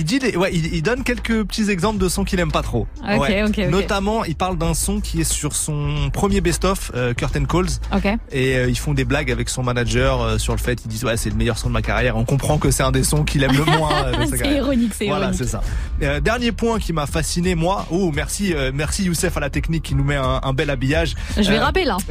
il donne quelques petits exemples de sons qu'il aime pas trop. Ok. Notamment, il parle d'un son qui est sur son premier best-of, Curtain Calls. Ok. Et ils font des blagues avec son manager sur le fait, ils disent ouais, c'est le meilleur son de ma carrière. On comprend que c'est un des sons qu'il aime le moins de sa carrière. C'est ironique, Voilà, c'est ça. Dernier point qui m'a fasciné, moi. Oh, merci Youssef à la technique qui nous met un bel habillage. Je vais rapper là.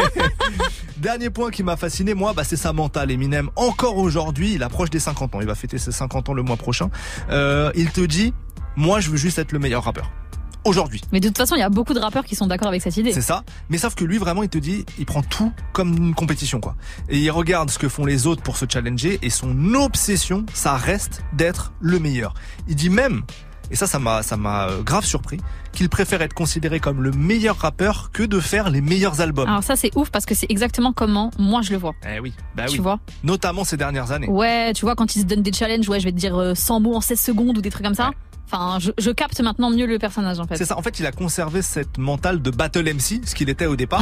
Dernier point qui m'a fasciné, moi, c'est sa mentale. Eminem, encore aujourd'hui, il approche des 50 ans. Il va fêter ses 50 ans le mois prochain. Il te dit, moi, je veux juste être le meilleur rappeur. Aujourd'hui. Mais de toute façon, il y a beaucoup de rappeurs qui sont d'accord avec cette idée. C'est ça. Mais sauf que lui, vraiment, il te dit, il prend tout comme une compétition, quoi. Et il regarde ce que font les autres pour se challenger et son obsession, ça reste d'être le meilleur. Il dit même, et ça m'a grave surpris, qu'il préfère être considéré comme le meilleur rappeur que de faire les meilleurs albums. Alors ça, c'est ouf parce que c'est exactement comment moi je le vois. Eh oui, tu vois. Notamment ces dernières années. Ouais, tu vois, quand il se donne des challenges, je vais te dire 100 mots en 16 secondes ou des trucs comme ça. Ouais. Enfin, je capte maintenant mieux le personnage, en fait. C'est ça. En fait, il a conservé cette mentale de battle MC, ce qu'il était au départ.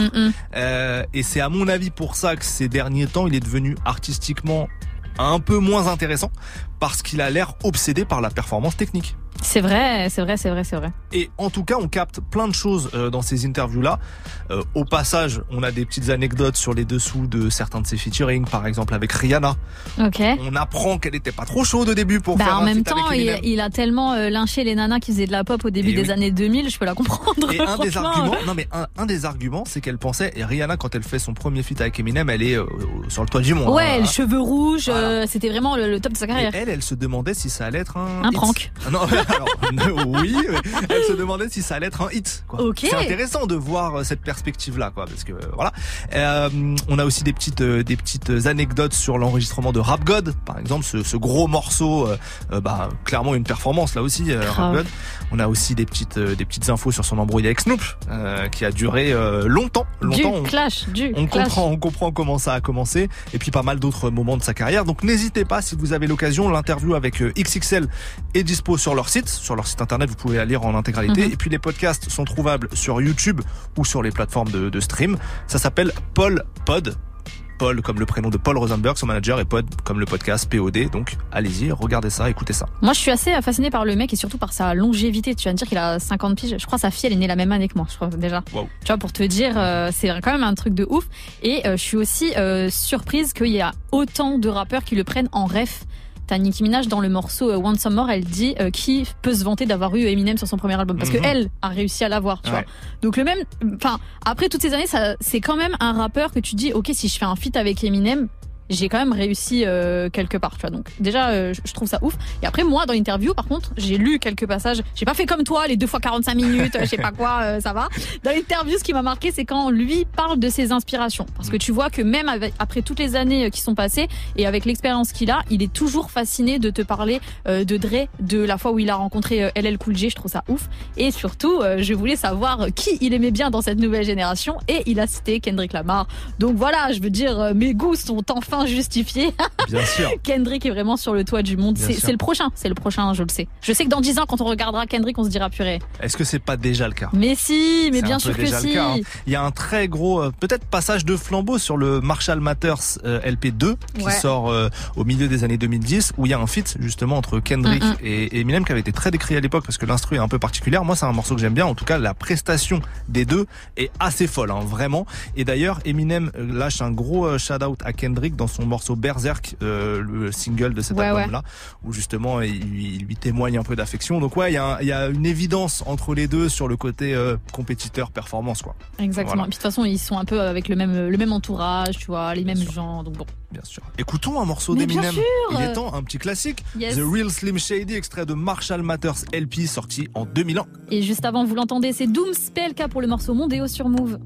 Et c'est à mon avis pour ça que ces derniers temps, il est devenu artistiquement un peu moins intéressant parce qu'il a l'air obsédé par la performance technique. C'est vrai. Et en tout cas, on capte plein de choses dans ces interviews-là. Au passage, on a des petites anecdotes sur les dessous de certains de ses featuring, par exemple avec Rihanna. Ok. On apprend qu'elle était pas trop chaude au début pour faire un feat avec Eminem. En même temps, il a tellement lynché les nanas qui faisaient de la pop au début des années 2000, je peux la comprendre. Et un des arguments, c'est qu'elle pensait, et Rihanna, quand elle fait son premier feat avec Eminem, elle est sur le toit du monde. Ouais, les cheveux rouges, c'était vraiment le top de sa carrière. Et elle se demandait si ça allait être un prank. Non, alors, oui, elle se demandait si ça allait être un hit, quoi. Okay. C'est intéressant de voir cette perspective-là, quoi, parce que voilà. On a aussi des petites anecdotes sur l'enregistrement de Rap God, par exemple, ce gros morceau, clairement une performance là aussi, Rap God. On a aussi des petites infos sur son embrouille avec Snoop, qui a duré longtemps. On comprend comment ça a commencé, et puis pas mal d'autres moments de sa carrière. Donc n'hésitez pas, si vous avez l'occasion, l'interview avec XXL est dispo sur leur site internet, vous pouvez la lire en intégralité. Et puis les podcasts sont trouvables sur YouTube ou sur les plateformes de stream. Ça s'appelle Paul Pod. Paul comme le prénom de Paul Rosenberg, son manager, et Pod comme le podcast POD. Donc allez-y, regardez ça, écoutez ça. Moi je suis assez fasciné par le mec et surtout par sa longévité. Tu vas me dire qu'il a 50 piges. Je crois que sa fille elle est née la même année que moi, je crois déjà. Wow. Tu vois, pour te dire, c'est quand même un truc de ouf. Et je suis aussi surprise qu'il y a autant de rappeurs qui le prennent en ref. T'as Nicki Minaj dans le morceau Want Some More, elle dit qui peut se vanter d'avoir eu Eminem sur son premier album parce que elle a réussi à l'avoir, tu vois. Donc le même, après toutes ces années, c'est quand même un rappeur que tu dis ok, si je fais un feat avec Eminem, j'ai quand même réussi quelque part, tu vois. Donc déjà je trouve ça ouf. Et après moi dans l'interview par contre, j'ai lu quelques passages, j'ai pas fait comme toi les 2 fois 45 minutes, je sais pas quoi, ça va. Dans l'interview ce qui m'a marqué c'est quand lui parle de ses inspirations parce que tu vois que même après toutes les années qui sont passées et avec l'expérience qu'il a, il est toujours fasciné de te parler de Dre, de la fois où il a rencontré LL Cool J, je trouve ça ouf. Et surtout je voulais savoir qui il aimait bien dans cette nouvelle génération et il a cité Kendrick Lamar. Donc voilà, je veux dire mes goûts sont enfin justifié. Bien sûr. Kendrick est vraiment sur le toit du monde. C'est le prochain, je le sais. Je sais que dans 10 ans, quand on regardera Kendrick, on se dira purée. Est-ce que c'est pas déjà le cas? Mais si, mais bien sûr que si. Cas, hein. Il y a un très gros, peut-être passage de flambeau sur le Marshall Mathers LP2 qui sort au milieu des années 2010 où il y a un feat justement entre Kendrick et Eminem qui avait été très décrié à l'époque parce que l'instru est un peu particulière. Moi, c'est un morceau que j'aime bien. En tout cas, la prestation des deux est assez folle, hein, vraiment. Et d'ailleurs, Eminem lâche un gros shout-out à Kendrick dans son morceau Berserk, le single de cet album-là, où justement il lui témoigne un peu d'affection. Donc il y a une évidence entre les deux sur le côté compétiteur performance, quoi. Exactement. Voilà. Et puis de toute façon ils sont un peu avec le même entourage, tu vois, les mêmes gens. Donc bon. Bien sûr. Écoutons un morceau d'Eminem. Il est temps, un petit classique. Yes. The Real Slim Shady, extrait de Marshall Mathers LP, sorti en 2001. Et juste avant, vous l'entendez, c'est Dooms PLK pour le morceau Mondeo sur Move.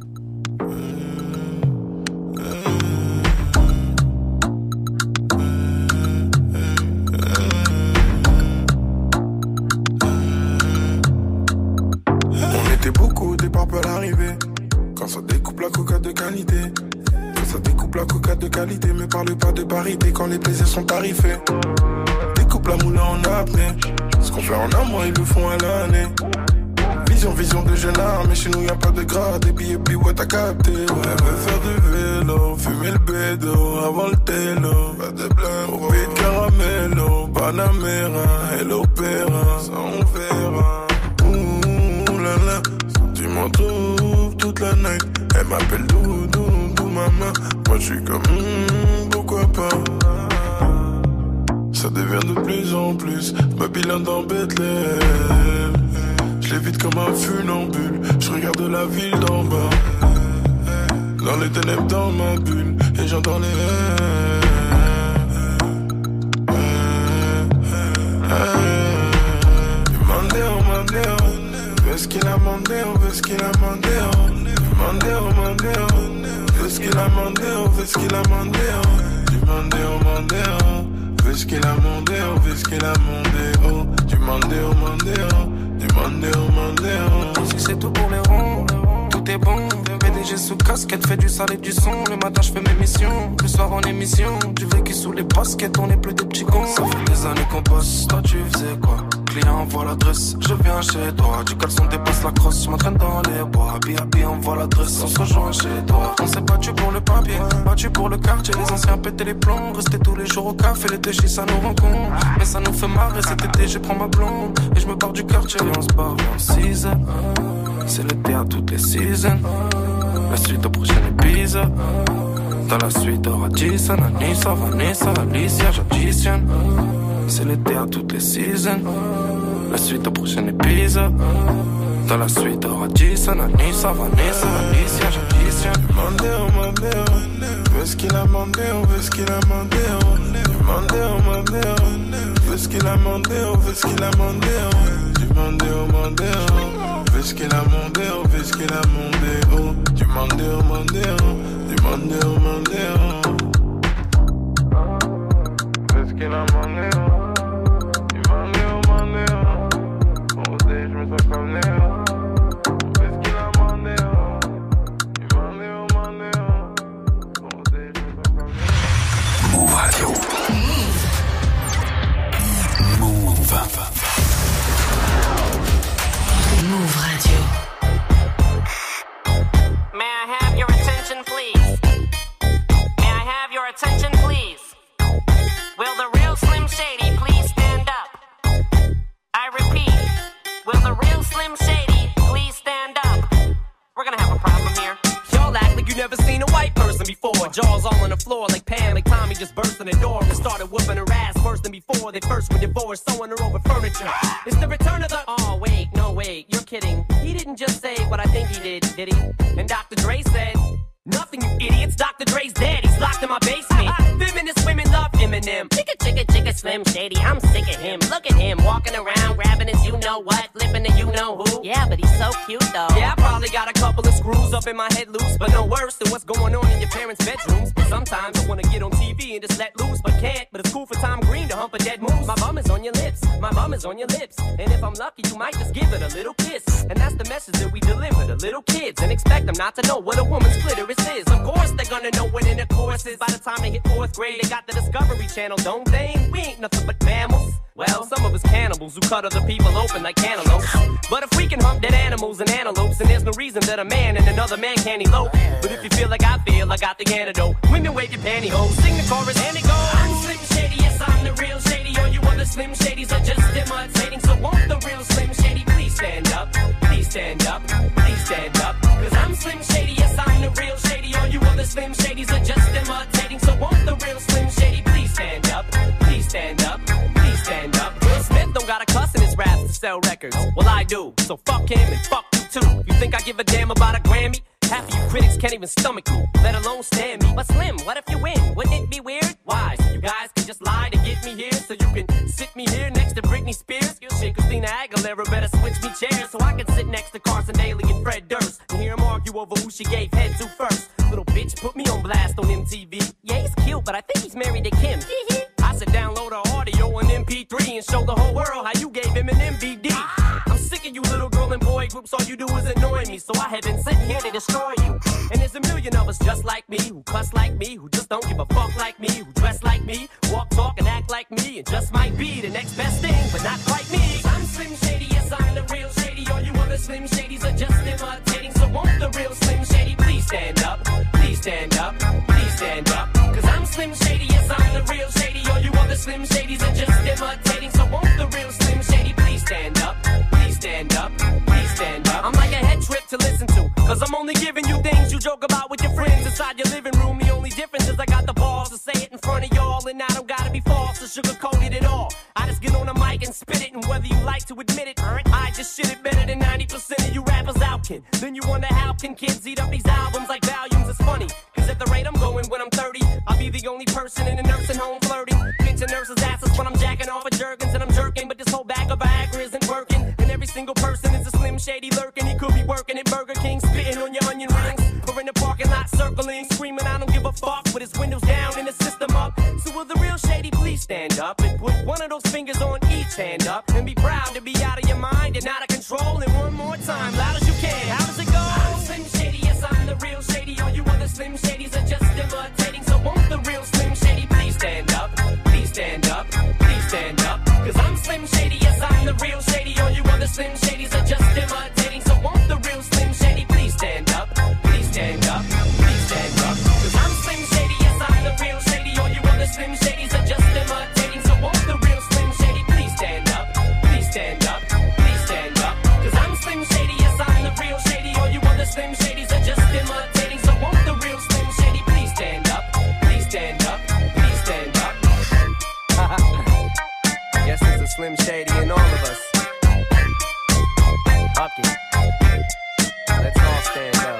Beaucoup au départ peut l'arrivée. Quand ça découpe la coca de qualité. Quand ça découpe la coca de qualité. Mais parle pas de parité quand les plaisirs sont tarifés. Découpe la moula en apnée. Ce qu'on fait en un mois ils le font à l'année. Vision de jeune âme. Mais chez nous y'a pas de gras. Des billets ouais t'as capté. Ouais veut faire du vélo. Fumer le bédo avant le télo. Pas de blanc au pied de caramello. Pas Panamera et l'opéra, ça on verra. Ouh là là, tu m'en trouves toute la night. Elle m'appelle Doudou, maman. Moi je suis comme pourquoi pas. Ça devient de plus en plus Babylone dans Bethléem. Je l'évite comme un funambule. Je regarde la ville d'en bas. Dans les ténèbres dans ma bulle. Et j'entends les Mandéo, veut ce qu'il a mandé, on veut ce qu'il a mandé. Mandéo, veut ce qu'il a mandé, on veut ce qu'il a mandé. Du mandéo, veut ce qu'il a mandé, on veut ce qu'il a mandé. Oh, du mandéo. Si c'est tout pour les ronds, tout est bon. PDG sous casquette, fait du sale et du son. Le matin je fais mes missions, le soir en émission. Du vécu sous les baskets, on n'est plus des petits cons. Ça fait des années qu'on bosse, toi tu faisais quoi? Client envoie l'adresse, je viens chez toi. Du caleçon dépasse la crosse, je m'entraîne dans les bois. Happy envoie l'adresse, on se rejoint chez toi. On s'est battu pour le papier, battu pour le quartier. Les anciens pétaient les plombs, restaient tous les jours au café. Les déchets ça nous rencontre, mais ça nous fait marrer. Cet été je prends ma blonde et je me barre du quartier. Et on se barre en 6 ans. C'est l'été à toutes les seasons. La suite au prochain épisode. Dans la suite aura Jason, Anissa, Vanessa, Alicia, j'additionne. C'est l'été à toutes les seasons. La suite au prochain épisode. Dans la suite aura Jason, Anissa, Vanessa, Alicia, j'additionne. Mandéo, veut ce qu'il a mandé, on veut ce qu'il a mandé. Mandéo, veut ce qu'il a mandé, on veut ce qu'il a mandé. Du mandéo, veut ce qu'il a mandé, on veut ce qu'il a mandé. Oh, du mandéo. Veut ce qu'il a mandé. Attention, please. Will the real Slim Shady please stand up? I repeat, will the real Slim Shady please stand up? We're gonna have a problem here. Y'all act like you never seen a white person before. Jaws all on the floor like Pam, like Tommy just burst in the door and started whooping her ass worse than before. They first were divorced, sewing her over furniture. It's the return of the... Oh, wait, no, wait, you're kidding. He didn't just say what I think he did he? And Dr. Dre said... Nothing, you idiots. Dr. Dre's dead. He's locked in my basement. Feminist women love Eminem. Chicka, Slim Shady. I'm sick of him. Look at him walking around, grabbing his you-know-what, flipping the you-know-who. Yeah, but he's so cute, though. Yeah, I probably got a couple of screws up in my head loose, but no worse than what's going on in your parents' bedrooms. Sometimes I wanna get on TV and just let loose, but can't. But it's cool for Tom Green to hump a dead moose. My bum is on your lips. My bum is on your lips. And if I'm lucky, you might just give it a little kiss. And that's the message that we deliver to little kids and expect them not to know what a woman's clitoris is. Of course they're gonna know what intercourse is. By the time they hit 4th grade, they got the Discovery Channel, don't they? We ain't nothing but mammals. Well, some of us cannibals who cut other people open like cantaloupes. But if we can hump dead animals and antelopes, then there's no reason that a man and another man can't elope. But if you feel like I feel, I got the antidote. Women wave your pantyhose, sing the chorus and it goes. I'm Slim Shady, yes I'm the real Shady. All you other Slim Shadys are just imitating. So won't the real Slim Shady please stand up? Please stand up, please stand up. Cause I'm Slim Shady, yes I'm the real Shady. All you other Slim Shadys are just imitating. So won't the real Slim Shady please stand up? Please stand up, please stand up. Will Smith don't got a cuss in his raps to sell records. Well I do, so fuck him and fuck you too. You think I give a damn about a Grammy? Half of you critics can't even stomach me, let alone stand me. But Slim, what if you win? Wouldn't it be weird? Why? So you guys can just lie to get me here, so you can sit me here next to Britney Spears? Shit, Christina Aguilera better switch me chairs so I can sit next to Carson Daly and Fred Durst and hear them argue over who she gave head to first. Little bitch put me on blast on MTV. Yeah, he's cute, but I think he's married to Kim. I said download her audio on MP3 and show the whole world how you gave him an MVD. I'm sick of you little girl and boy groups, all you do is annoy me, so I have been sitting here to destroy you. And there's a million of us just like me, who cuss like me, who just don't give a fuck like me, who dress like me, walk, talk, and act like me, and just might be the next best thing, but not quite me. I'm Slim Shady, yes I'm the real Shady, all you other Slim Shadys are just imitating, so won't the real Slim Shady please stand up, please stand up, please stand up. Cause I'm Slim Shady, yes I'm the real Shady, all you other Slim Shadys are just imitating. Cause I'm only giving you things you joke about with your friends inside your living room. The only difference is I got the balls to say it in front of y'all, and I don't gotta be false or sugarcoat it at all. I just get on the mic and spit it, and whether you like to admit it, I just shit it better than 90% of you rappers out, kid. Then you wonder how can kids eat up these albums like volumes? It's funny, cause at the rate I'm going when I'm 30, I'll be the only person in a nursing home flirting. Pinching nurses' asses when I'm jacking off of Jergens and I'm jerking, but this whole bag of Viagra isn't working. And every single person is a Slim Shady lurking. He could be working at Burger King, spitting on your onion rings, or in the parking lot circling, screaming I don't give a fuck with his windows down and his system up. So will the real Shady please stand up and put one of those fingers on each hand up and be proud to be out of your mind and out of control. And one more time, loud as you can. How does it go? I'm Slim Shady, yes I'm the real Shady. All you other Slim Shadys are just imitating. So won't the real Slim Shady please stand up? Please stand up, please stand up. Cause I'm Slim Shady, yes I'm the real Shady. All you other Slim Shadys are just imitating. So won't the real Slim Shady please stand up? Please stand up, please stand up. Cause I'm Slim Shady, yes I'm the real Shady. All you other Slim Shadys are just imitating. So won't the real Slim Shady please stand up? Please stand up, please stand up. Cause I'm Slim Shady, yes I'm the real Shady. All you other Slim Shadys are just imitating. So won't the real Slim Shady please stand up? Please stand up, please stand up. Guess there's a Slim Shady in all of us. Up it. Let's all stand up.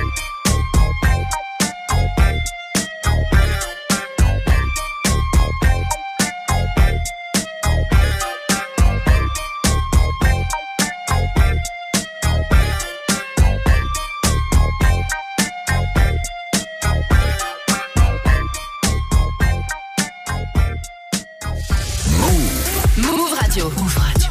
Move Radio. Move Radio.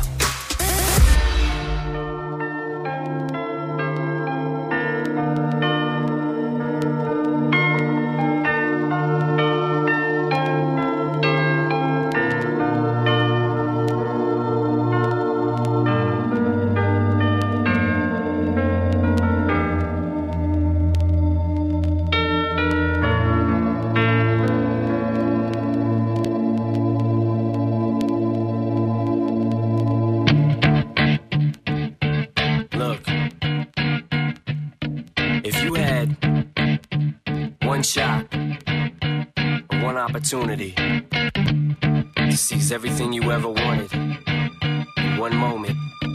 Shot, one opportunity to seize everything you ever wanted in one moment.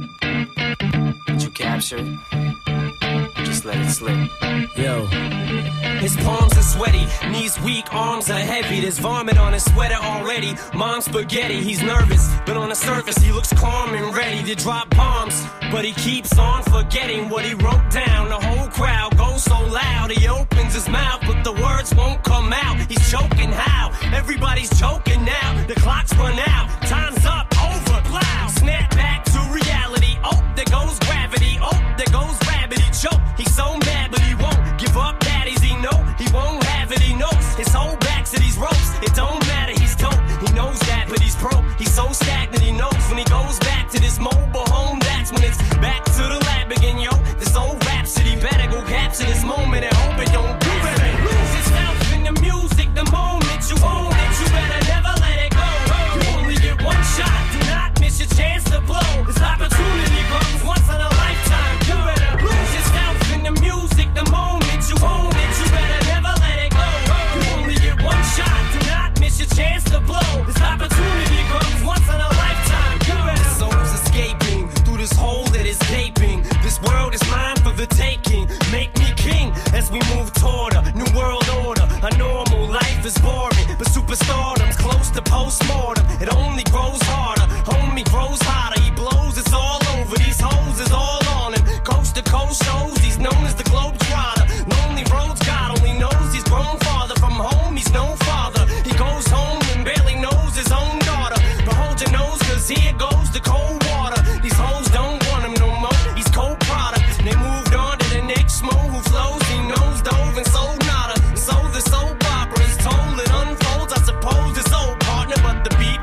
Did you capture it? Just let it slip. Yo. His palms are sweaty, knees weak, arms are heavy. There's vomit on his sweater already. Mom's spaghetti, he's nervous, but on the surface he looks calm and ready to drop bombs. But he keeps on forgetting what he wrote down. The whole crowd goes so loud, he opens his mouth, but the words won't come out. He's choking how? Everybody's joking now. The clock's run out, time's up, over, plow. Snap back to reality. Oh, there goes gravity. Oh, there goes rabbit. He choke. He's so mad, but he won't give up. Daddies, he know he won't have it. He knows his whole back to these ropes. It don't matter. He's dope. He knows that, but he's broke. He's so stagnant. He knows when he goes back to this mobile home. That's when it's back to the lab again, yo. This old rhapsody better go capture this moment and hope it don't do it. Lose yourself in the music the moment you own it. You better never let it go. You only get one shot. Do not miss your chance to blow. This opportunity comes once in a lifetime. You better lose yourself in the music the moment you own it. You better never let it go. You only get one shot. Do not miss your chance to blow. This opportunity comes once in a lifetime. You better. The soul's escaping through this hole that is gaping. This world is mine for the taking. Make me king as we move toward a new world order. A normal life is boring, but superstardom's close to postmortem. It only grows harder, homie grows hotter. He blows, it's all over. These hoes is all on him. Coast to coast shows, he's known as the Globetrotter. Lonely roads, God only knows he's grown farther from home. He's no father. He goes home and barely knows his own daughter. But hold your nose, cause here goes the cold water. These hoes don't want him no more. He's cold product. They moved on to the next mo who flows. He knows dove and sold nada. So the soap opera is told, it unfolds. I suppose it's old partner, but the beat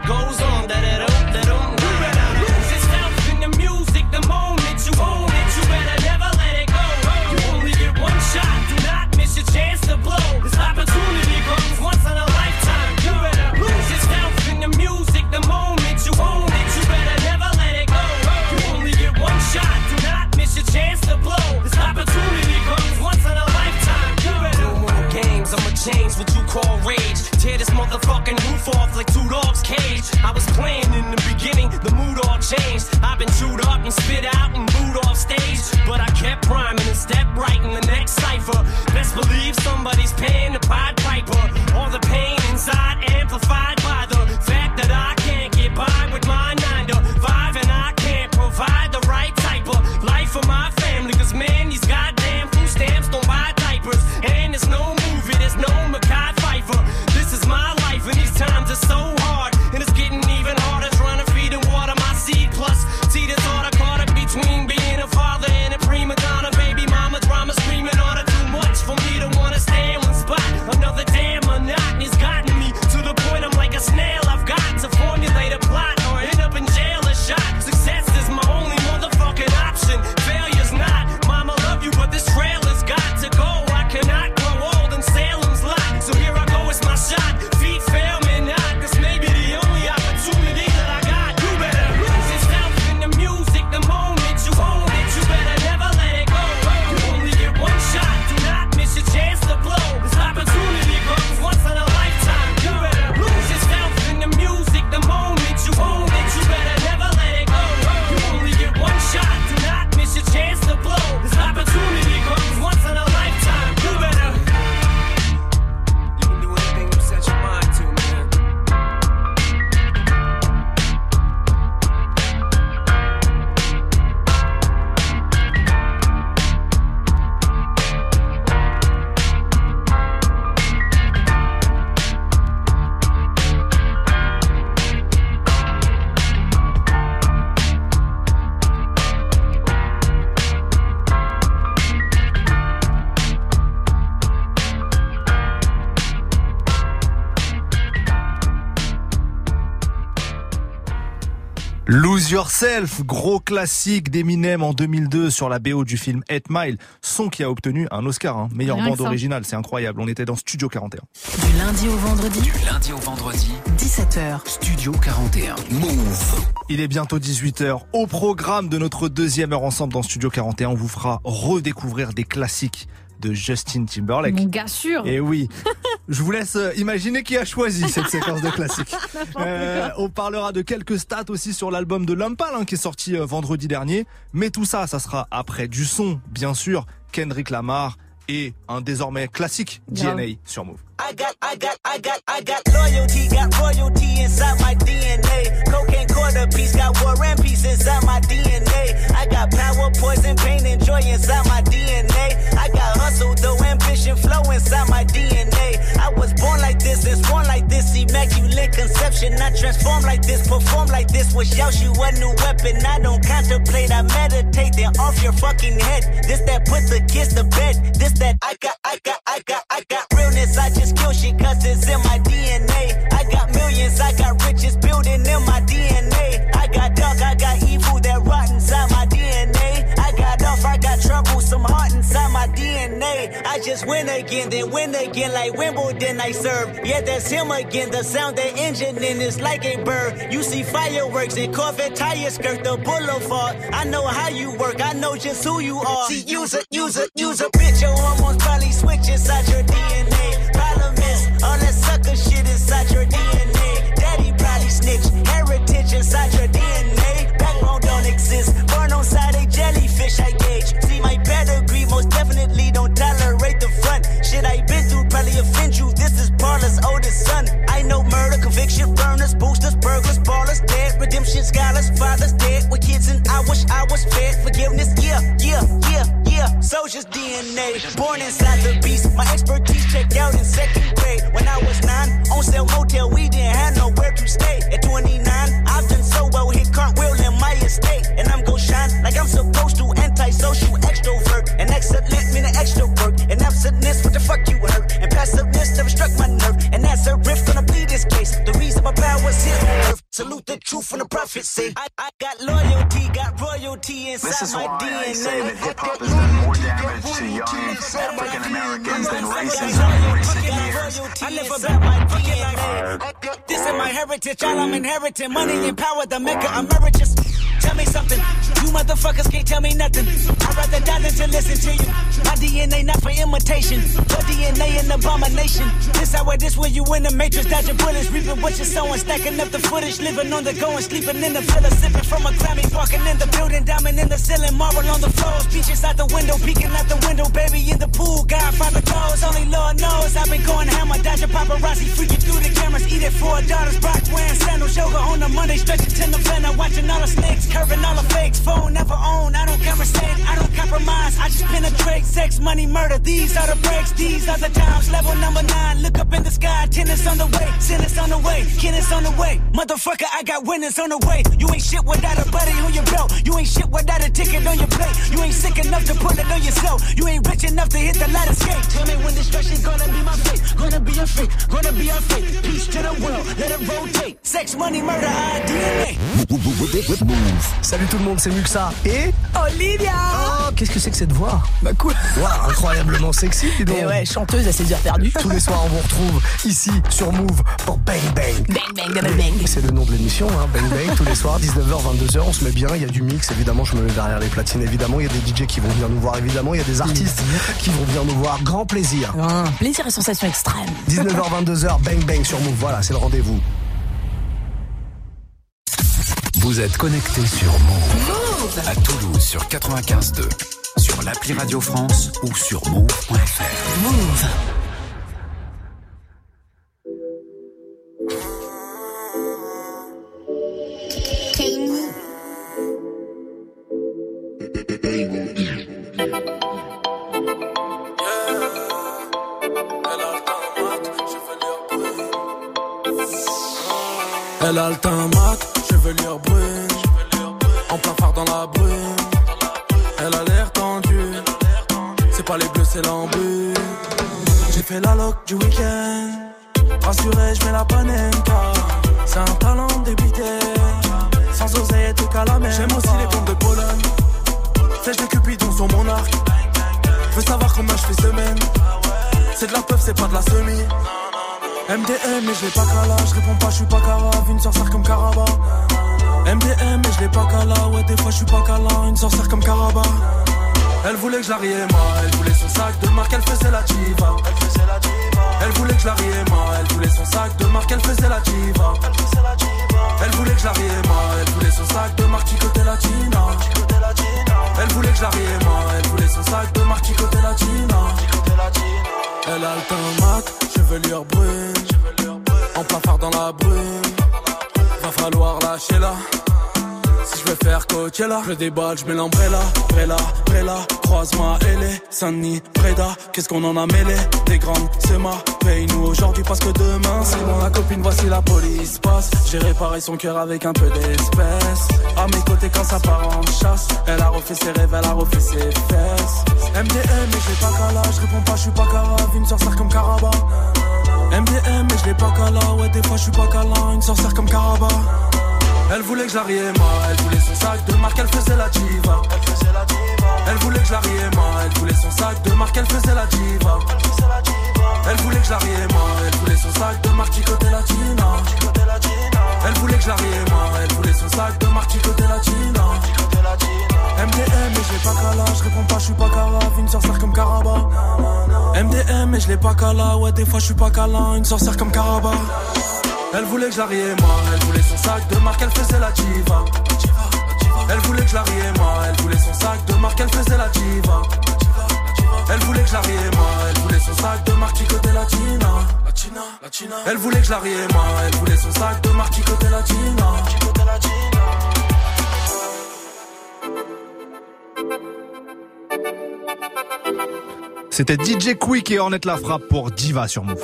fucking roof off like two dogs' cage. I was playing in the beginning, the mood all changed. I've been chewed up and spit out and booed off stage, but I kept rhyming and stepped right in the next cipher. Best believe somebody's paying the Pied Piper. All the pain inside amplified by the fact that I can't get by with my 9 to 5, and I can't provide the right type of life for my family. Cause man, these goddamn food stamps don't buy diapers, and there's no movie, there's no Mackay Pfeiffer. This is my life, and these times are so hard, and it's getting even harder trying to feed and water my seed. Plus, see the thought I caught up between being a father and a prima donna. Baby mama drama screaming order too much for me to wanna stay in one spot. Another damn monotony's gotten me to the point I'm like a snail. I've got to formulate a plot or end up in jail or shot. Success is my only motherfucking option. Failure's not. Mama love you, but this trail has got to go. I cannot grow old in Salem's lot. So here I go, it's my shot. Feet fail me not. This may be the only opportunity that I got. You better lose yourself in the music the moment you own it. You better never let it go. You only get one shot. Do not miss your chance to blow. This opportunity comes once in a lifetime. You better lose yourself in the music the moment you own it. You better never let it go. You only get one shot. Do not miss your chance to blow. This opportunity comes once in a lifetime. You better. You can do anything you set your mind to, man. Lose Yourself, gros classique d'Eminem en 2002 sur la BO du film 8 Mile, son qui a obtenu un Oscar, hein. Meilleure Rien bande que ça. originale, c'est incroyable. On était dans Studio 41. Du lundi au vendredi, 17h. Studio 41. Move. Il est bientôt 18h. Au programme de notre deuxième heure ensemble dans Studio 41, on vous fera redécouvrir des classiques de Justin Timberlake. Mon gars sûr. Et oui. Je vous laisse imaginer qui a choisi cette séquence de classiques. On parlera de quelques stats aussi sur l'album de Lompal, hein, qui est sorti vendredi dernier. Mais tout ça, ça sera après du son, bien sûr. Kendrick Lamar et un désormais classique DNA sur Move. I got loyalty, got royalty inside my DNA. Cocaine quarter piece, got war and peace inside my DNA. I got power, poison, pain, and joy inside my DNA. I got hustle, though ambition, flow inside my DNA. I was born like this, and born like this, immaculate conception. I transform like this, perform like this. Was Yaoshu a new weapon? I don't contemplate, I meditate. Then off your fucking head. This that put the kids to bed. This that I got realness. I just kill shit cause it's in my DNA. I got millions, I got riches building in my DNA. I got dark, I got evil that rot inside my DNA. I got off, I got trouble, some heart inside my DNA. I just win again, then win again like Wimbledon I serve. Yeah, that's him again, the sound that engine in is like a bird. You see fireworks and Corvette tires skirt the boulevard. I know how you work, I know just who you are. See, use a bitch, your hormones probably switch inside your DNA. Problem is, all that sucker shit inside your DNA. Daddy probably snitch, heritage inside your DNA. Backbone don't exist, born on side a jellyfish I gauge. See my pedigree, most definitely don't tolerate the front. Shit I been through probably offend you, this is Paula's oldest son. I know murder, conviction, burners, boosters, burglars, ballers, dead, redemption, scholars, fathers dead with kids and I wish I was fed. Forgiveness, yeah. Soldier's DNA, born inside the beast. My expertise checked out in second grade. When I was 9, on sale motel, we didn't have nowhere to stay. At 29, I've done so well, hit cartwheel in my estate. And I'm gon' shine like I'm supposed to, antisocial extrovert. And excellent meaning extra work. And absentness, what the fuck you hurt? And passiveness never struck my nerve. And that's a riff, gonna bleed this case. The reason my power's here on earth. Salute the truth from the prophecy. I got loyalty, got royalty inside my DNA. I say that hip-hop has done more damage to young African Americans than racism in recent years. I never bet my DNA. This is my heritage, all I'm inheriting. Money and power, the maker emeritus. tell me something. You motherfuckers can't tell me nothing. I'd rather die than to listen to you. My DNA not for imitation. Your DNA an abomination. This how this where you in the matrix, dodging bullets, reaping what you're sowing, stacking up the footage, living on the go and sleeping in the villa, sipping from a Grammy, walking in the building, diamond in the ceiling, marble on the floors, beaches out the window, peeking out the window, baby in the pool, Godfather goes, only Lord knows I've been going hammer, dodging paparazzi, freaking through the cameras, eating for daughters, Brock wearing sandals, yoga on the Monday, stretching to November, watching all the snakes, curving all the fakes, phone never own, I don't conversate, I don't compromise, I just penetrate, sex, money, murder, these are the breaks, these are the times, level number 9, look up in the sky, tennis on the way, tennis on the way, tennis on the way, motherfucker, I got winners on the way, you ain't shit without a buddy on your belt, you ain't shit without a ticket on your plate, you ain't sick enough to put it on yourself, you ain't rich enough to hit the ladder skate, tell me when destruction's gonna be my fate, gonna be a fate, gonna be a fate, peace to the world, let it rotate, sex, money, murder, DNA. Salut tout le monde, c'est Muxa et Olivia. Oh, qu'est-ce que c'est que cette voix? Bah cool. Wow, incroyablement sexy, dis donc. Et ouais, chanteuse à ses heures perdues. Tous les soirs, on vous retrouve ici sur Move pour Bang Bang. Bang Bang, Double Bang. C'est le nom de l'émission, hein, Bang Bang. Tous les soirs, 19h, 22h, on se met bien. Il y a du mix, évidemment. Je me mets derrière les platines, évidemment. Il y a des DJ qui vont venir nous voir, évidemment. Il y a des artistes qui vont venir nous voir. Grand plaisir. Plaisir et sensation extrême. 19h, 22h, Bang Bang sur Move. Voilà, c'est le rendez-vous. Vous êtes connectés sur Move. À Toulouse sur 95.2, sur l'appli Radio France ou sur move.fr. Move. Elle a le teint mat, chevelure brune, en plein phare dans la brume. Elle a l'air tendue, c'est pas les bleus, c'est l'embut. J'ai fait la loc du week-end, rassuré, j'mets la panenka. C'est un talent débité, sans oseille et tout qu'à la main. J'aime aussi les bombes de Pologne, flèche de Cupidon sur mon arc. Veux savoir combien j'fais semaine, c'est de la puff, c'est pas de la semi. MDM mais je l'ai pas cala, je réponds pas, je suis pas carave, une sorcière comme Caraba. MDM mais je l'ai pas cala, ouais des fois je suis pas cala, une sorcière comme Caraba. Elle voulait que je la riema, elle voulait son sac de marque, elle faisait la diva. Elle voulait que je la riema, elle voulait son sac de marque, elle faisait la diva. Elle voulait que je la riema, elle voulait son sac de marque, Chicoté Latina. Elle voulait que je la riema, elle voulait son sac de marque, Chicoté Latina. Elle a le teint mat, chevelure brune, en plein phare dans la brume. Va falloir lâcher là, si je veux faire Coachella. Je déballe, je mets l'ombrella, Brella, croise-moi, L.A. Saint-Denis, Breda, qu'est-ce qu'on en a mêlé. Des grandes, c'est ma, paye-nous aujourd'hui parce que demain c'est bon la copine, voici la police passe. J'ai réparé son cœur avec un peu d'espèce. À mes côtés quand ça part en chasse, elle a refait ses rêves, elle a refait ses fesses. MDM mais je l'ai pas cala, je réponds pas, je suis pas carave, une sorcière comme Caraba. MDM mais je l'ai pas cala, ouais des fois je suis pas cala, une sorcière comme Caraba. Elle voulait que je la riema, elle voulait son sac de marque, elle faisait la diva. Elle voulait que je la riema, elle voulait son sac de marque, elle faisait la diva. Elle voulait que je la riema, elle voulait son sac de marque, Chicoté Latina. Elle voulait que je la riema, elle voulait son sac de marque, Chicoté Latina. MDM mais je l'ai pas cala, je réponds pas, je suis pas carave, une sorcière comme Caraba. MDM mais je l'ai pas cala, ouais des fois je suis pas cala, une sorcière comme Caraba. Elle voulait que je la riema, elle voulait son sac de marque, elle faisait la diva. Elle voulait que je la riema, elle voulait son sac de marque, elle faisait la diva. Elle voulait que je la riema, elle voulait son sac de marque, Chicoté Latina. Elle voulait que je la riema, elle voulait son sac de marque, Chicoté Latina. C'était DJ Quick et Ornette la frappe pour Diva sur Move.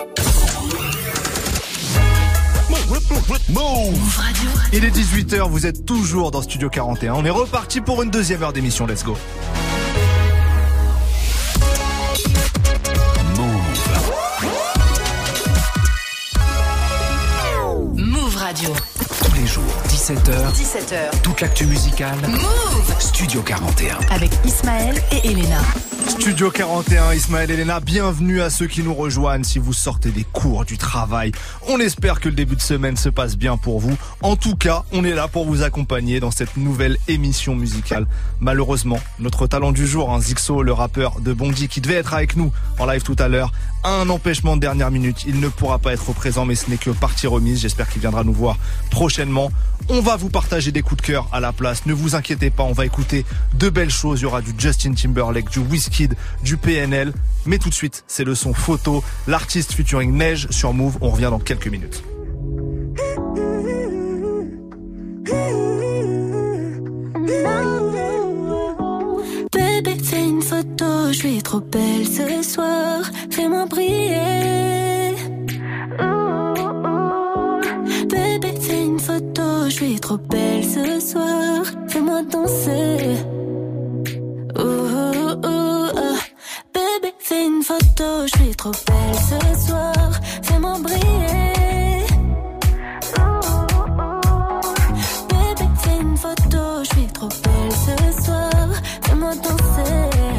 Move Radio. Il est 18h, vous êtes toujours dans Studio 41. On est reparti pour une deuxième heure d'émission, let's go. Move Radio. Tous les jours, 17h. Toute l'actu musicale. Move. Studio 41. Avec Ismaël et Elena. Studio 41, Ismaël et Léna, bienvenue à ceux qui nous rejoignent si vous sortez des cours, du travail. On espère que le début de semaine se passe bien pour vous. En tout cas, on est là pour vous accompagner dans cette nouvelle émission musicale. Malheureusement, notre talent du jour, Zixo, le rappeur de Bondy, qui devait être avec nous en live tout à l'heure, a un empêchement de dernière minute. Il ne pourra pas être présent, mais ce n'est que partie remise. J'espère qu'il viendra nous voir prochainement. On va vous partager des coups de cœur à la place. Ne vous inquiétez pas, on va écouter de belles choses. Il y aura du Justin Timberlake, du Wizkid, du PNL. Mais tout de suite, c'est le son Photo, l'artiste featuring Neige sur Move. On revient dans quelques minutes. Bébé, fais une photo, je suis trop belle ce soir. Fais-moi briller. Bébé, fais une photo, je suis trop belle ce soir. Fais-moi danser. Bébé, fais une photo, je suis trop belle ce soir. Fais-moi briller. Bébé, fais une photo, je suis trop belle ce soir. Fais-moi danser.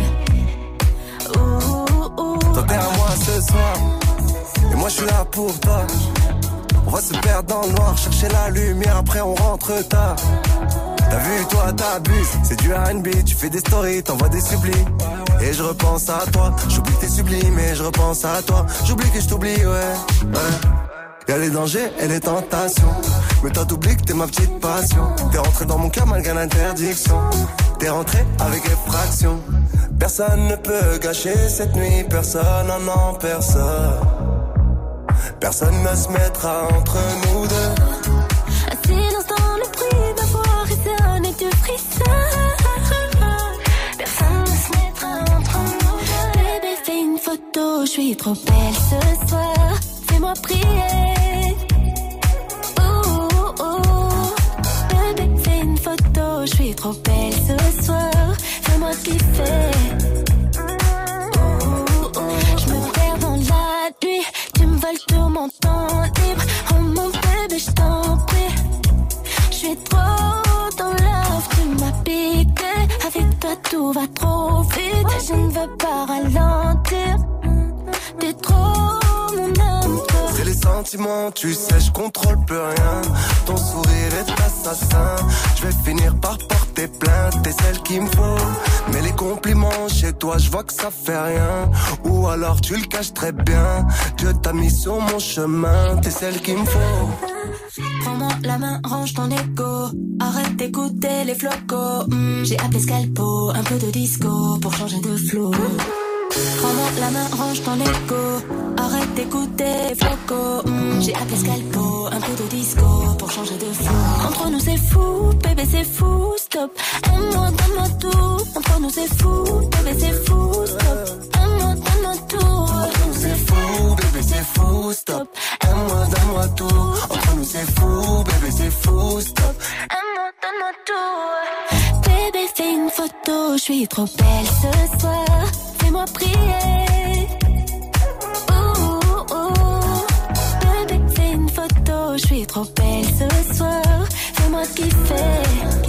Toi t'es à moi ce soir, et moi je suis là pour toi. On va se perdre dans le noir, chercher la lumière, après on rentre tard. T'as vu, toi t'abuses, c'est du R&B, tu fais des stories, t'envoies des sublimes. Et je repense à toi, j'oublie que t'es sublime, et je repense à toi, j'oublie que je t'oublie, ouais. Y'a les dangers et les tentations, mais toi t'oublies que t'es ma petite passion. T'es rentré dans mon cœur malgré l'interdiction, t'es rentré avec effraction. Personne ne peut gâcher cette nuit, personne, non, non, personne. Personne ne se mettra entre nous deux. Un silence dans le bruit de ma voix résonne et tu frissonnes. Personne ne se mettra entre nous deux. Bébé, fais une photo, je suis trop belle ce soir. Fais-moi prier. Bébé, fais une photo, je suis trop belle ce soir. Fais-moi kiffer. Je me perds dans la nuit. Tu me voles tout mon temps libre. Oh mon bébé, je t'en prie. Je suis trop dans love, tu m'as piqué. Avec toi tout va trop vite. Je ne veux pas ralentir. T'es trop mon âme. C'est les sentiments, tu sais, je contrôle plus rien. Ton sourire est assassin. Je vais finir par porter plainte, t'es celle qu'il me faut. Mais les compliments chez toi, je vois que ça fait rien. Ou alors tu le caches très bien. Dieu t'a mis sur mon chemin, t'es celle qu'il me faut. Prends-moi la main, range ton égo. Arrête d'écouter les flocos. J'ai appelé Scalpo, un peu de disco pour changer de flow. Prends-moi la main, range ton égo. Arrête d'écouter les flocos. J'ai appelé Scalpo, un peu de disco pour changer de flow. Entre nous c'est fou, bébé c'est fou, stop. Aime-moi, donne-moi tout. Entre nous c'est fou, bébé c'est fou, stop. Aime-moi, donne-moi tout. Entre nous c'est fou, bébé c'est fou, stop. Aime-moi, donne-moi tout. Entre nous c'est fou, bébé c'est fou, stop. Aime-moi, donne-moi tout. Bébé fais une photo, je suis trop belle ce soir. Fais-moi prier. Bébé fais une photo, je suis trop belle ce soir. Fais-moi kiffer.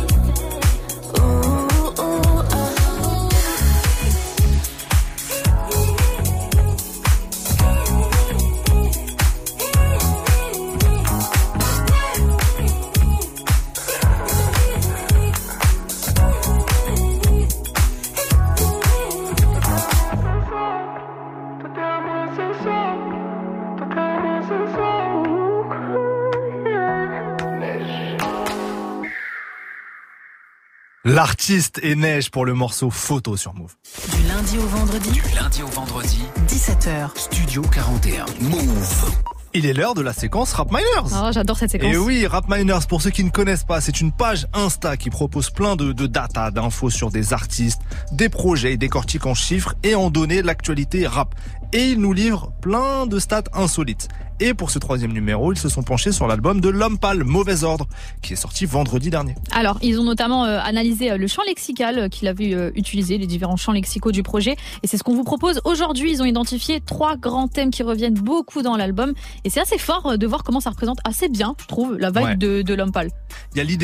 L'artiste est Neige pour le morceau Photo sur Move. Du lundi au vendredi. 17h. Studio 41. Move. Il est l'heure de la séquence Rap Miners. Oh, j'adore cette séquence. Et oui, Rap Miners, pour ceux qui ne connaissent pas, c'est une page Insta qui propose plein de data, d'infos sur des artistes, des projets, décortique en chiffres et en données l'actualité rap. Et il nous livre plein de stats insolites. Et pour ce 3e numéro, ils se sont penchés sur l'album de L'Homme Pâle, Mauvais Ordre, qui est sorti vendredi dernier. Alors, ils ont notamment analysé le champ lexical qu'il avait utilisé, les différents champs lexicaux du projet. Et c'est ce qu'on vous propose aujourd'hui. Ils ont identifié 3 grands thèmes qui reviennent beaucoup dans l'album. Et c'est assez fort de voir comment ça représente assez bien, je trouve, la vibe de L'Homme Pâle. Il y a l'idée,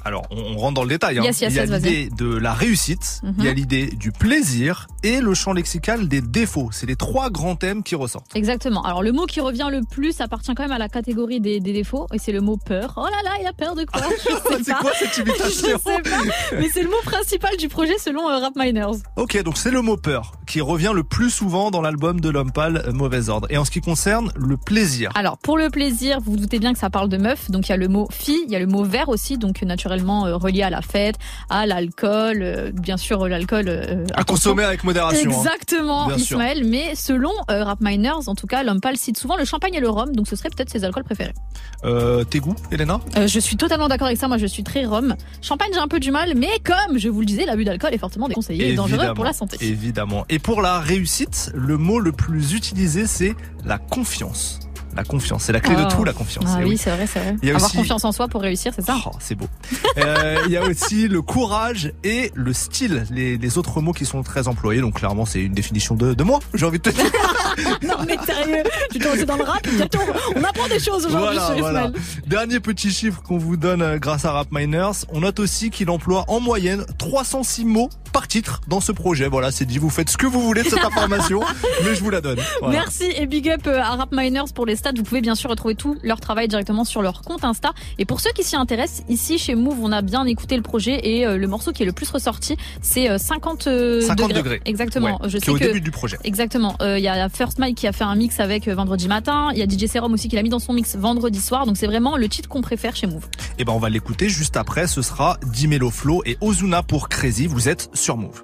Alors, on rentre dans le détail. Hein. Yes, il y a vas-y. l'idée de la réussite, il y a l'idée du plaisir et le champ lexical des défauts. C'est les 3 grands thèmes qui ressortent. Exactement. Alors le mot qui revient le plus appartient quand même à la catégorie des défauts et c'est le mot peur. Oh là là, il a peur de quoi? C'est quoi cette imitation? Je sais pas, mais c'est le mot principal du projet selon Rap Miners. Ok, donc c'est le mot peur qui revient le plus souvent dans l'album de l'homme pâle, Mauvais Ordre. Et en ce qui concerne le plaisir. Alors pour le plaisir, vous vous doutez bien que ça parle de meuf, donc il y a le mot fille, il y a le mot verre aussi, donc naturellement relié à la fête, à l'alcool, bien sûr l'alcool à consommer avec modération. Exactement, hein. Ismaël. Mais selon Rap Miners, en tout cas, l'homme pâle cite souvent le champagne et le rhum, donc ce serait peut-être ses alcools préférés. Tes goûts, Elena? Je suis totalement d'accord avec ça. Moi, je suis très rhum. Champagne, j'ai un peu du mal, mais comme je vous le disais, l'abus d'alcool est fortement déconseillé et dangereux pour la santé. Évidemment. Et pour la réussite, le mot le plus utilisé, c'est la confiance. La confiance, c'est la clé de tout, la confiance. Ah oui, c'est vrai. Avoir aussi... confiance en soi pour réussir, c'est ça? Oh, c'est beau. Il y a aussi le courage et le style, les autres mots qui sont très employés. Donc clairement, c'est une définition de moi, j'ai envie de te dire. Non mais sérieux, tu t'en sais dans le rap, bientôt on apprend des choses aujourd'hui chez Ismaël. Dernier petit chiffre qu'on vous donne grâce à Rap Miners. On note aussi qu'il emploie en moyenne 306 mots par titre dans ce projet. Voilà, c'est dit, vous faites ce que vous voulez de cette information, mais je vous la donne. Voilà. Merci et big up à Rap Miners pour les stats. Vous pouvez bien sûr retrouver tout leur travail directement sur leur compte Insta. Et pour ceux qui s'y intéressent, ici chez Move, on a bien écouté le projet et le morceau qui est le plus ressorti, c'est 50 degrés. Exactement. Ouais, je sais au début du projet. Exactement. Il y a First Mike qui a fait un mix avec Vendredi Matin. Il y a DJ Serum aussi qui l'a mis dans son mix Vendredi Soir. Donc c'est vraiment le titre qu'on préfère chez Move. Et ben on va l'écouter juste après. Ce sera Dimelo Flow et Ozuna pour Crazy. Vous êtes sur Move.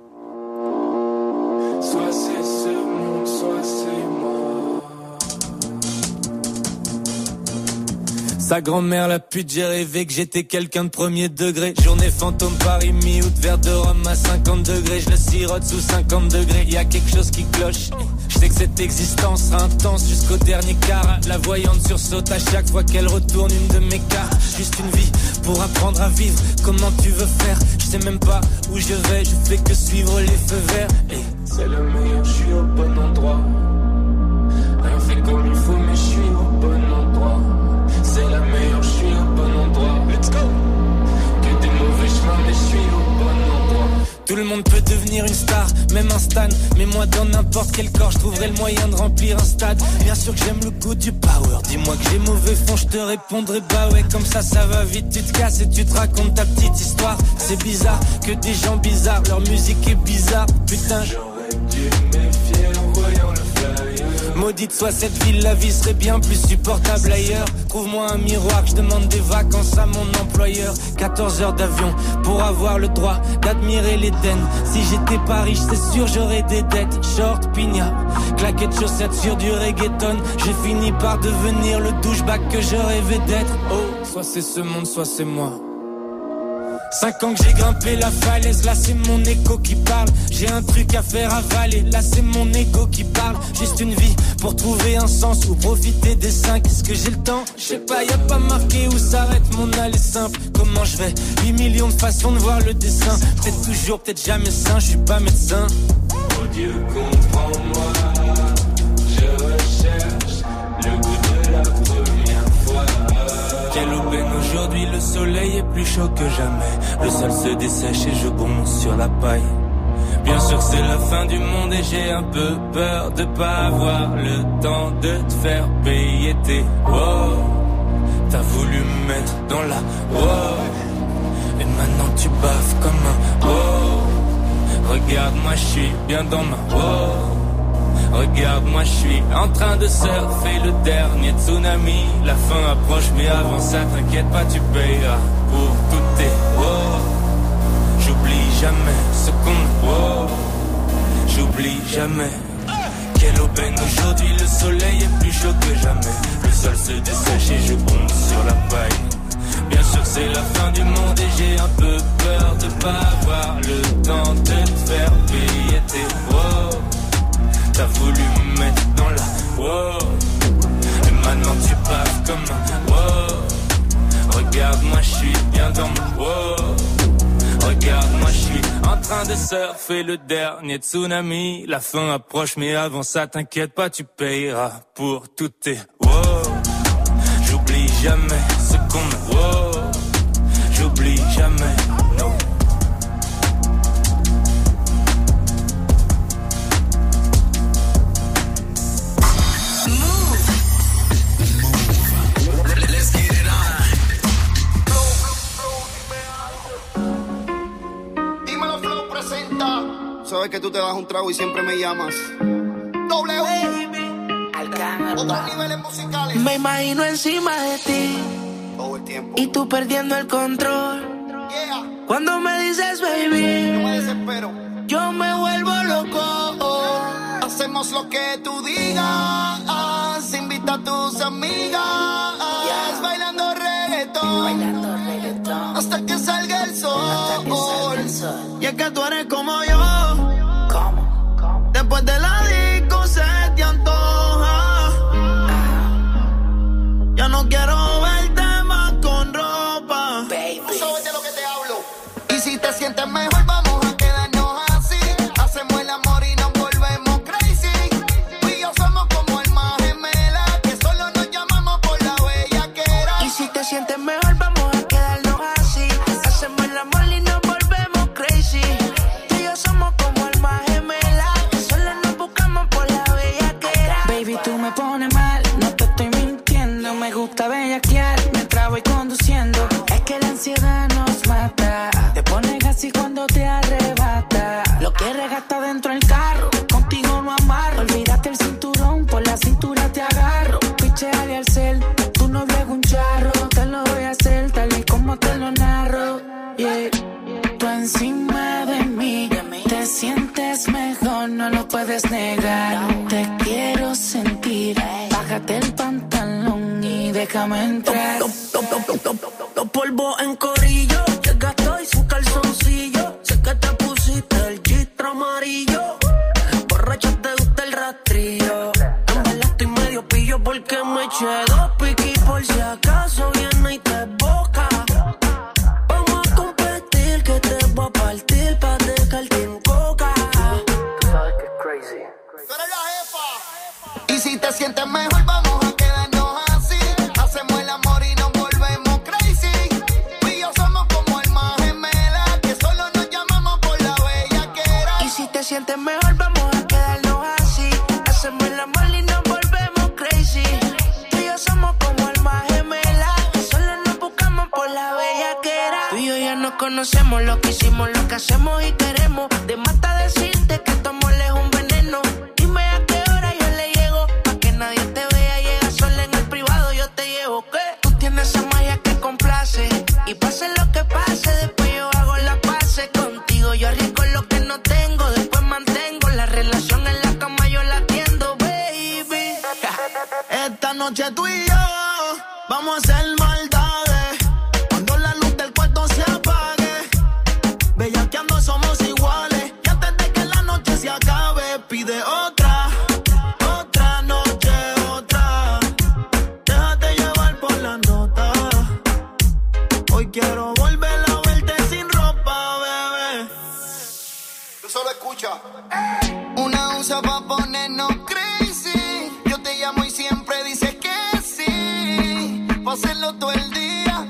Soit c'est ce monde, soit c'est moi. Sa grand-mère la pute, j'ai rêvé que j'étais quelqu'un de premier degré. Journée fantôme Paris, mi-août, verre de rhum à 50 degrés. Je le sirote sous 50 degrés, y a quelque chose qui cloche. Je sais que cette existence sera intense jusqu'au dernier quart. La voyante sursaute à chaque fois qu'elle retourne une de mes cartes. Juste une vie pour apprendre à vivre. Comment tu veux faire? Je sais même pas où je vais, je fais que suivre les feux verts. Et c'est le meilleur, je suis au bon endroit. Rien fait comme il faut, mais je suis au bon endroit. C'est la meilleure, je suis au bon endroit. Let's go! Que des mauvais chemins, mais je suis au bon endroit. Tout le monde peut devenir une star, même un stan. Mais moi dans n'importe quel corps, je trouverai le moyen de remplir un stade. Bien sûr que j'aime le goût du power. Dis-moi que j'ai mauvais fond, je te répondrai bah ouais. Comme ça va vite, tu te casses et tu te racontes ta petite histoire. C'est bizarre que des gens bizarres, leur musique est bizarre. Putain, j'aurais dû me méfier en voyant le flyer. Maudite soit cette ville, la vie serait bien plus supportable ailleurs. Trouve-moi un miroir, je demande des vacances à mon employeur. 14 heures d'avion pour avoir le droit d'admirer l'Éden. Si j'étais pas riche, c'est sûr j'aurais des dettes. Short, pigna, claquettes, chaussettes sur du reggaeton. J'ai fini par devenir le douchebag que je rêvais d'être. Oh, soit c'est ce monde, soit c'est moi. 5 ans que j'ai grimpé la falaise, là c'est mon écho qui parle. J'ai un truc à faire avaler, là c'est mon ego qui parle. Juste une vie pour trouver un sens ou profiter des 5. Est-ce que j'ai le temps? Je sais pas, y a pas marqué où s'arrête mon aller simple. Comment je vais? 8 millions de façons de voir le dessin. Peut-être toujours, peut-être jamais sain, je suis pas médecin. Oh Dieu, comprends-moi. Je recherche le goût de la première fois. Quelle aubaine aujourd'hui, le soleil est plus chaud que jamais. Le sol se dessèche et je bombe sur la paille. Bien sûr que c'est la fin du monde et j'ai un peu peur de pas avoir le temps de te faire payer tes wow. T'as voulu me mettre dans la wow. Et maintenant tu baffes comme un wow. Regarde moi je suis bien dans ma wow. Regarde moi je suis en train de surfer le dernier tsunami. La fin approche mais avant ça t'inquiète pas tu payeras pour tout tes wow. J'oublie jamais ce qu'on wow. J'oublie jamais. Quelle aubaine aujourd'hui, le soleil est plus chaud que jamais. Le sol se dessèche et je bombe sur la paille. Bien sûr c'est la fin du monde et j'ai un peu peur de pas avoir le temps de te faire payer tes wow. T'as voulu me mettre dans la wow. Et maintenant tu passes comme un wow. Regarde moi je suis bien dans ma wow. Regarde moi je suis en train de surfer le dernier tsunami. La fin approche mais avant ça t'inquiète pas tu payeras pour tout tes wow. J'oublie jamais ce qu'on me wow. j'oublie jamais, no. Sabes que tú te das un trago y siempre me llamas. W. Otros niveles musicales. Me imagino encima de ti. Todo el tiempo. Y tú perdiendo el control. Yeah. Cuando me dices baby, yo me desespero. Yo me vuelvo loco. Hacemos lo que tú digas. Invita a tus amigas. Bailando reggaetón. Hasta que salga el sol. Y es que tú eres como yo. Después de la disco se te antoja. Ya no quiero verte más con ropa. Baby. Tú sabes de lo que te hablo. Y si te sientes mejor, vamos a quedarnos así. Hacemos el amor y nos volvemos crazy. Tú y yo somos como almas gemelas, que solo nos llamamos por la bellaquera. Y si te sientes mejor, vamos a quedarnos así. Hacemos el amor y nos volvemos crazy. Tú y yo somos como almas gemelas, que solo nos buscamos por la bellaquera. Baby, tú me pones mal, no te estoy mintiendo. Me gusta bellaquear mientras voy conduciendo. Es que la ansiedad nos mata. Te pones así cuando te arrebata. Lo que regasta dentro del carro, contigo no amarro. Olvídate el cinturón, por la cintura te agarro. Picheale al cel, tu novio es un charro. Te lo voy a hacer tal y como te lo narro. Yeah. Tú encima de mí, te sientes mejor, no lo puedes negar. Te quiero sentir, bájate el pantalón y déjame entrar. Los polvos en corillo, llegaste hoy sin calzoncillo. Sé que te pusiste el chistro amarillo. Borracha te gusta el rastrillo. En verdad estoy medio pillo porque me eché 2 piquis por si acaso viene y te boca. Vamos a competir que te voy a partir pa' dejarte en coca. Sabes que es crazy. Tú eres la jefa. Y si te sientes mejor, vamos a quedarnos así. Hacemos el amor y nos volvemos crazy. Tú y yo somos como almas gemelas, que solo nos llamamos por la bellaquera. Y si te sientes mejor, vamos a quedarnos así. Hacemos el amor y nos volvemos crazy. Tú y yo somos como almas gemelas, que solo nos buscamos por la bellaquera. Tú y yo ya nos conocemos, lo que hicimos, lo que hacemos y queremos. De mata decirte que tu amor es un veneno. Dime a qué hora yo le llego, pa' que nadie te vea. Llega sola en el privado, yo te llevo. ¿Qué? Tú tienes esa magia que complace. Y pase lo que pase, después yo hago la paz contigo. Yo arriesgo lo que no tengo, después mantengo la relación en la cama, yo la atiendo, baby. Esta noche tú y yo vamos a hacer maldades. Cuando la luz del cuarto se apague, bellaqueando somos iguales. Y antes de que la noche se acabe, pide otra noche, otra. Déjate llevar por la nota. Hoy quiero volver a verte sin ropa, bebé. Tú solo escucha. Una onza pa' ponernos crazy. Yo te llamo y siempre dices que sí. Pa' hacerlo todo el día,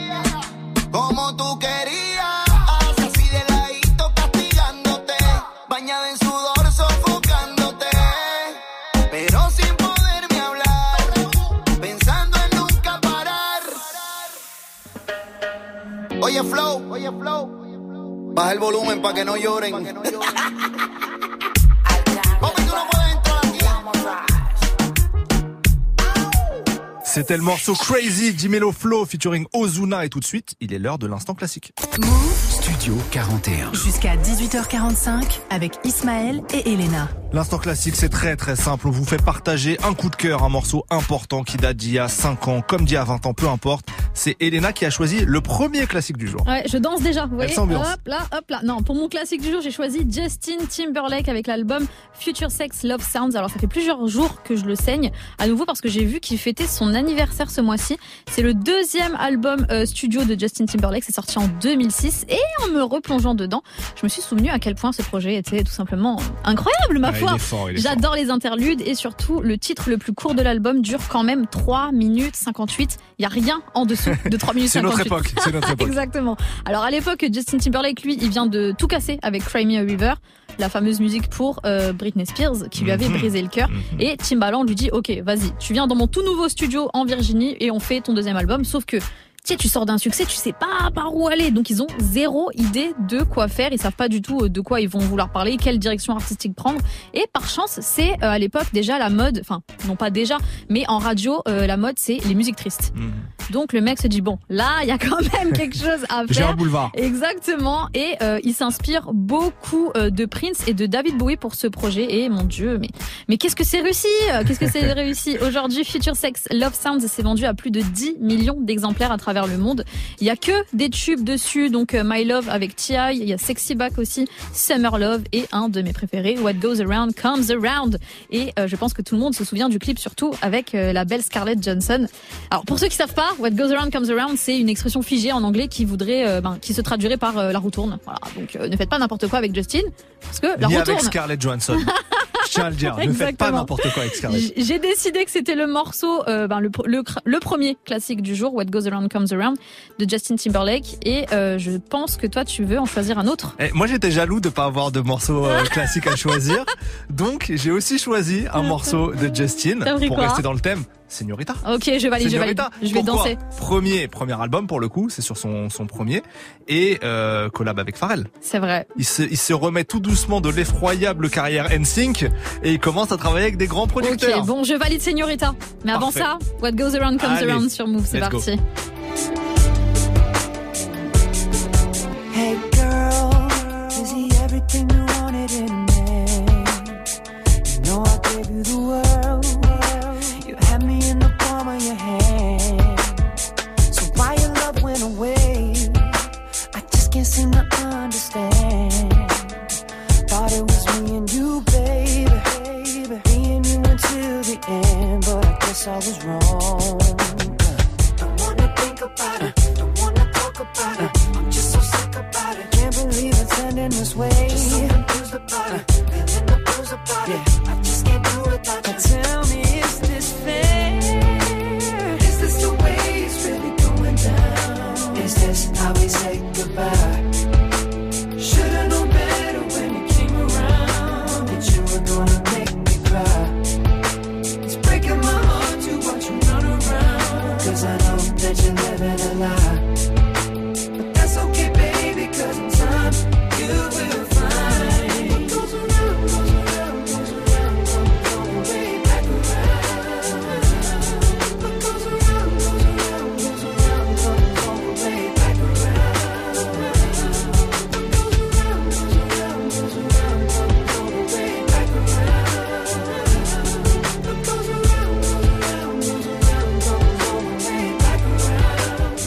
como tú querías. Así de ladito castigándote, bañada en sudor sofocándote, pero sin poderme hablar, pensando en nunca parar. Oye Flow, baja el volumen pa' que no lloren. Papi, tú no puedes entrar aquí. C'était le morceau Crazy d'Imelo Flow featuring Ozuna et tout de suite, il est l'heure de l'instant classique. Studio 41. Jusqu'à 18h45 avec Ismaël et Elena. L'instant classique, c'est très très simple. On vous fait partager un coup de cœur, un morceau important qui date d'il y a 5 ans, comme d'il y a 20 ans, peu importe. C'est Elena qui a choisi le premier classique du jour. Ouais, je danse déjà, vous voyez. s'ambiance. Hop là. Non, pour mon classique du jour, j'ai choisi Justin Timberlake avec l'album Future Sex Love Sounds. Alors ça fait plusieurs jours que je le saigne à nouveau parce que j'ai vu qu'il fêtait son anniversaire anniversaire ce mois-ci. C'est le deuxième album studio de Justin Timberlake. C'est sorti en 2006. Et en me replongeant dedans, je me suis souvenu à quel point ce projet était tout simplement incroyable, ma foi. J'adore les interludes et surtout le titre le plus court de l'album dure quand même 3 minutes 58. Il n'y a rien en dessous de 3 minutes 58. C'est notre époque. Exactement. Alors à l'époque, Justin Timberlake, lui, il vient de tout casser avec Cry Me a River, la fameuse musique pour Britney Spears qui lui avait brisé le cœur. Et Timbaland lui dit ok, vas-y, tu viens dans mon tout nouveau studio en Virginie et on fait ton deuxième album. Sauf que tu sors d'un succès, tu sais pas par où aller. Donc ils ont zéro idée de quoi faire. Ils savent pas du tout de quoi ils vont vouloir parler, quelle direction artistique prendre. Et par chance, c'est à l'époque déjà la mode, enfin non pas déjà, mais en radio, la mode c'est les musiques tristes. Donc le mec se dit bon, là il y a quand même quelque chose à faire. J'ai un boulevard. Exactement. Et il s'inspire beaucoup de Prince et de David Bowie pour ce projet. Et mon Dieu, mais qu'est-ce que c'est réussi? Qu'est-ce que c'est réussi? Aujourd'hui, Future Sex Love Sounds s'est vendu à plus de 10 millions d'exemplaires à travers le monde. Il y a que des tubes dessus, donc My Love avec T.I., il y a Sexy Back aussi, Summer Love et un de mes préférés, What Goes Around Comes Around. Et je pense que tout le monde se souvient du clip, surtout avec la belle Scarlett Johansson. Alors pour ceux qui savent pas, What Goes Around Comes Around, c'est une expression figée en anglais qui voudrait, qui se traduirait par la roue tourne. Voilà, donc ne faites pas n'importe quoi avec Justin, parce que la roue tourne. Avec Scarlett Johansson. Je tiens à le dire, ne faites pas n'importe quoi avec Scarlett. J'ai décidé que c'était le morceau, le premier classique du jour, What Goes Around Comes Around, de Justin Timberlake. Et je pense que toi, tu veux en choisir un autre. Moi, j'étais jaloux de pas avoir de morceau classique à choisir. Donc, j'ai aussi choisi un morceau de Justin pour rester dans le thème. Señorita. Ok, je valide. Je vais danser. Premier album pour le coup, c'est sur son premier et collab avec Pharrell. C'est vrai. Il se remet tout doucement de l'effroyable carrière NSYNC et il commence à travailler avec des grands producteurs. Ok, bon, je valide Señorita. Mais avant ça, What Goes Around Comes Around sur Move, c'est parti. Hey girl, is he everything you wanted in a man? You know I gave you the world. You had me in the palm of your hand. So why your love went away? I just can't seem to understand. Thought it was me and you, baby. Me and you until the end, but I guess I was wrong. Don't wanna think about it. Don't wanna talk about it. I'm just so sick about it. Can't believe it's ending this way. Just so confused about it. Feeling the blues about it. I just can't do it without you. Tell me, is this fair? Is this the way it's really going down? Is this how we say goodbye? Should've known better when you came around that you were gonna make me cry. It's breaking my heart to watch you run around, 'cause I know that you're living a lie. But that's okay, baby, 'cause in time you will find what goes around, goes around, goes around, goes way back around. What goes around, goes around, goes around, goes way back around. What goes around, goes around, goes around, goes way back around. What goes around, goes around, goes around, goes way back around.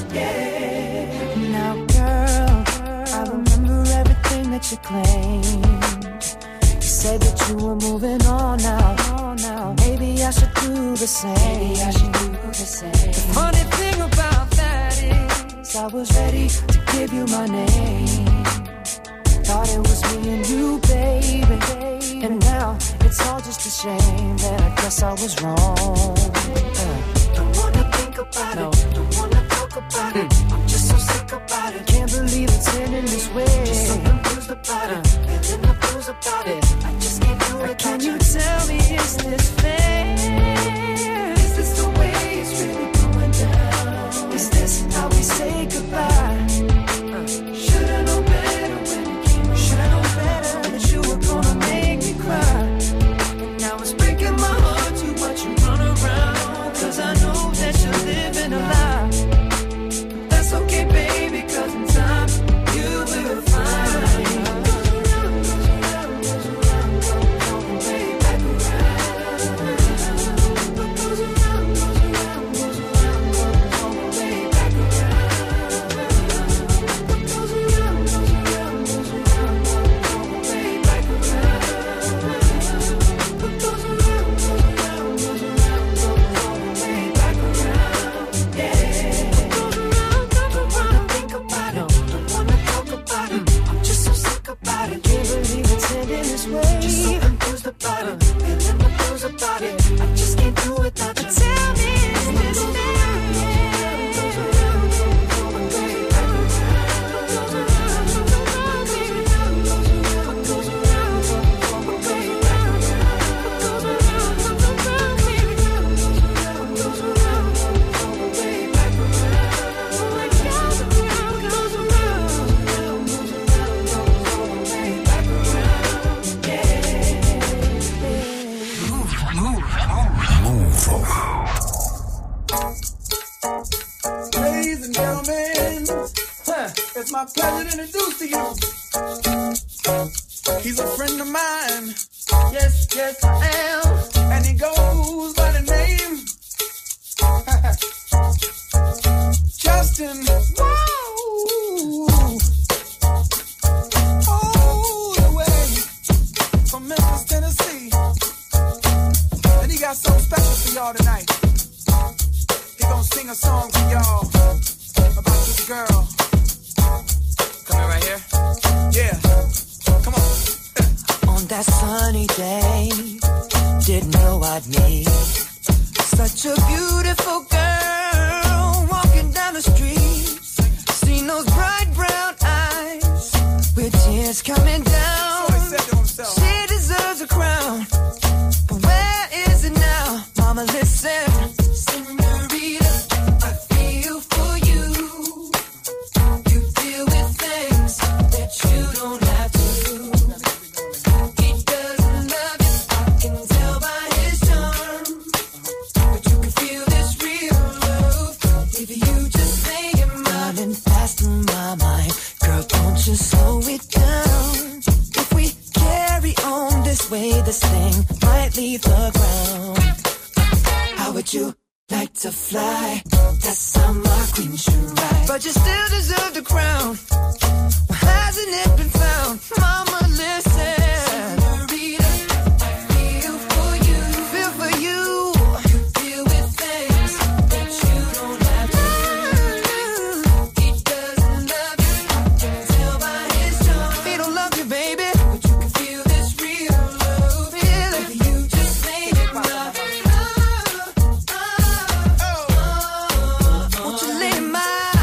Yeah. Now, girl, I remember everything that you claimed. You said that you were moving on now. Maybe I should do the same. The funny thing about that is I was ready to give you my name. Thought it was me and you, baby. And now it's all just a shame that I guess I was wrong. Don't wanna think about it. Don't wanna talk about it. I'm just so sick about it. Can't believe it's ending this way. Just so confused about it. Feeling the blues about it. I just can't do it. Can you tell me, is this fair? Is this the way it's really going down? Is this how we say goodbye? Should've known better when you came around. Should've known better that you were gonna make me cry. And now it's breaking my heart to watch you run around, 'cause I know that you're living a lie. But that's okay, baby, 'cause in time you will find. Goes around, goes around, goes around, goes way back around. about it. I just can't do it without you. Tell me, is this fair? Ladies and gentlemen, it's my pleasure to introduce to you. He's a friend of mine. Yes, yes, I am. And he goes by the name Justin. Wow. All the way from Memphis, Tennessee. And he got something special for y'all tonight. He gonna sing a song for y'all about this girl. Come in right here. Yeah. Come on. On that sunny day, didn't know I'd meet such a beautiful girl walking down the street. Seen those bright brown eyes with tears coming down. So he said to himself, she deserves a crown, but where is it now? Mama, listen. Senorita, I feel for you. You deal with things that you don't have to. He doesn't love you, I can tell by his charm. But you can feel this real love if you just say it. Running fast in my mind, girl, don't you slow it down. If we carry on this way, this thing might leave the ground. How would you like to fly? That's how my queen should ride. But you still deserve the crown. Why hasn't it been found? Mama, listen. Senorita, I feel for you. Feel for you. You deal with things that you don't have to. He doesn't love you, I can tell by his charm. He don't love you, baby, but you can feel this real love. Feel it. You just made it right. Won't you lay my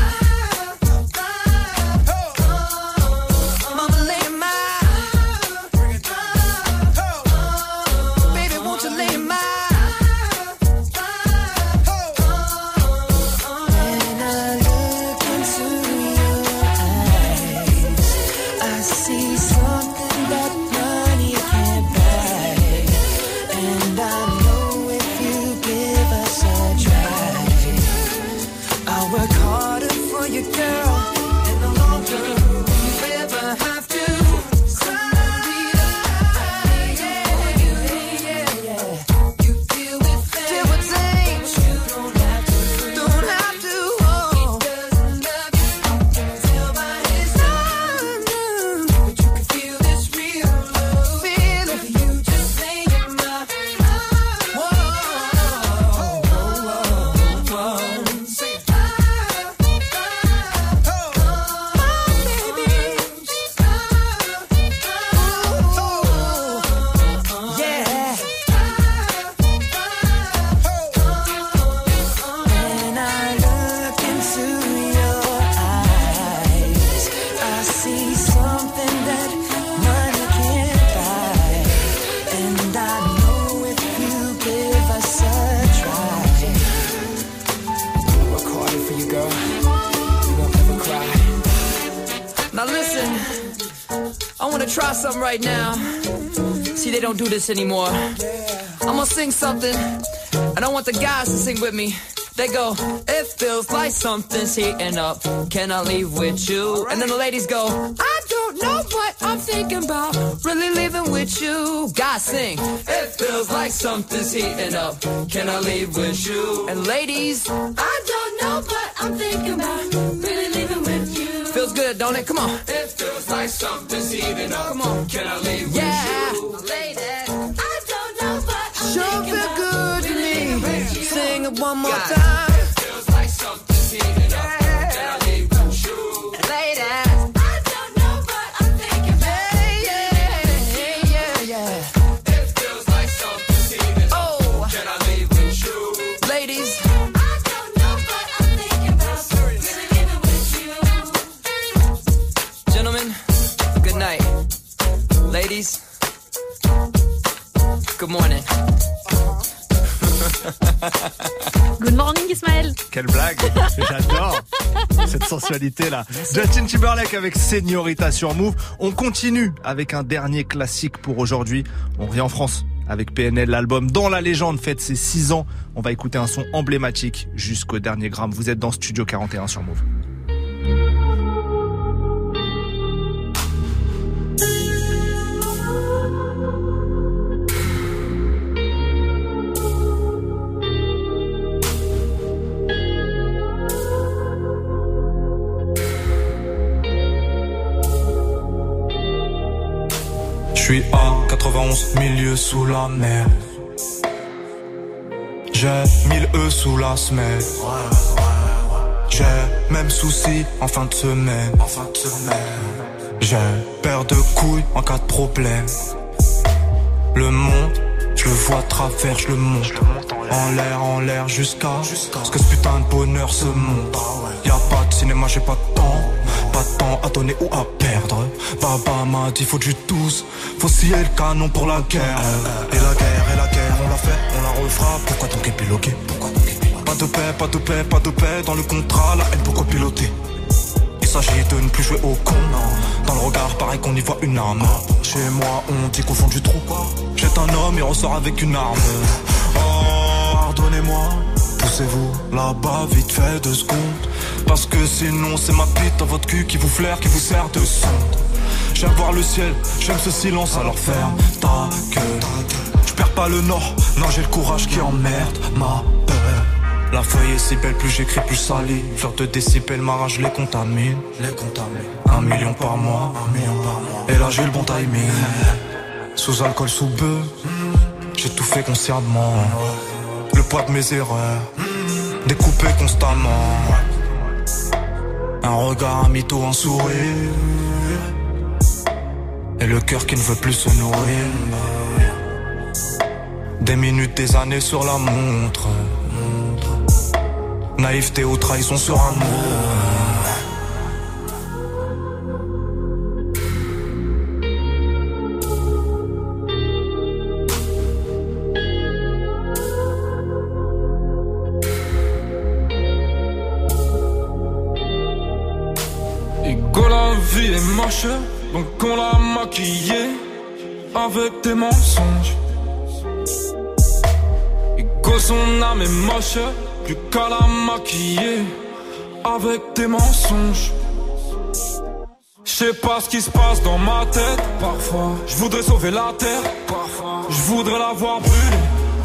mama, lay my baby, won't you lay my when I look into your eyes, I see something that money can't buy. And I know if you give us a try, I'll work harder for you, girl, and the longer you ever have to. Senorita, yeah. You deal with things you don't have to. Don't have to. Oh. He doesn't love you, I can tell by his charm. But you can feel this real love. Feel it. If you just say it, my whoa. Say it. When I look into your eyes, I see something that money can't buy. And I know if you give us a try, I'll work harder for you, girl. You won't ever cry. now listen, I wanna try something right now. See, they don't do this anymore. I'm gonna sing something, and I want the guys to sing with me. They go, it feels like something's heating up. Can I leave with you? And then the ladies go, I don't know what I'm thinking about. Really leaving with you. Guys sing, it feels like something's heating up. Can I leave with you? And ladies, I don't know what I'm thinking about. Really leaving with you. Feels good, don't it? Come on. It feels like something's heating up. Come on. Can I leave with you? Ladies, I don't know what I'm thinking about. Sure feel good to me. Sing it one more time. It feels like something's heating up. Can I leave with you? Ladies, I don't know what I'm thinking about. Yeah. It feels like something's heating up. Good morning Ismaël. Quelle blague. J'adore cette sensualité là. Justin Timberlake avec Señorita sur Move. On continue avec un dernier classique pour aujourd'hui. On revient en France avec PNL, l'album Dans la légende fête ses 6 ans. On va écouter un son emblématique jusqu'au dernier gramme. Vous êtes dans Studio 41 sur Move. Je suis à 91 milieu sous la mer. J'ai 1000 E sous la semaine. J'ai même souci en fin de semaine. J'ai paire de couilles en cas de problème. Le monde, je le vois à travers, je le monte. En l'air jusqu'à ce que ce putain de bonheur se monte. Y'a pas de cinéma, j'ai pas de temps. Pas de temps à donner ou à perdre. Baba m'a dit faut du douce. Faut scier le canon pour la guerre. Et la guerre, on l'a fait, on la refera. Pourquoi donc épiloguer? Pas de paix dans le contrat, la haine pour copiloter. Il s'agit de ne plus jouer au con. Dans le regard, pareil qu'on y voit une arme. Chez moi, on dit qu'au fond du trou, jette un homme et ressort avec une arme. Oh, pardonnez-moi, poussez-vous là-bas vite fait 2 secondes. Parce que sinon c'est ma bite dans votre cul qui vous flaire, qui vous sert de sonde. J'aime voir le ciel, j'aime ce silence, alors ferme ta gueule. Je perds pas le nord, non j'ai le courage qui emmerde ma peur. La feuille est si belle, plus j'écris plus ça lit. Fleur de décibels, ma rage les contamine. 1 million par mois, et là j'ai le bon timing. Sous alcool, sous bœuf, j'ai tout fait consciemment. Le poids de mes erreurs, découpé constamment. Un regard, un mytho, un sourire. Et le cœur qui ne veut plus se nourrir. Des minutes, des années sur la montre. Naïveté ou trahison sur un mot. vie est moche, donc on l'a maquillée avec des mensonges. Ego, son âme est moche, plus qu'à la maquiller avec des mensonges. Je sais pas ce qui se passe dans ma tête. Parfois, je voudrais sauver la terre. Parfois, je voudrais la voir brûler.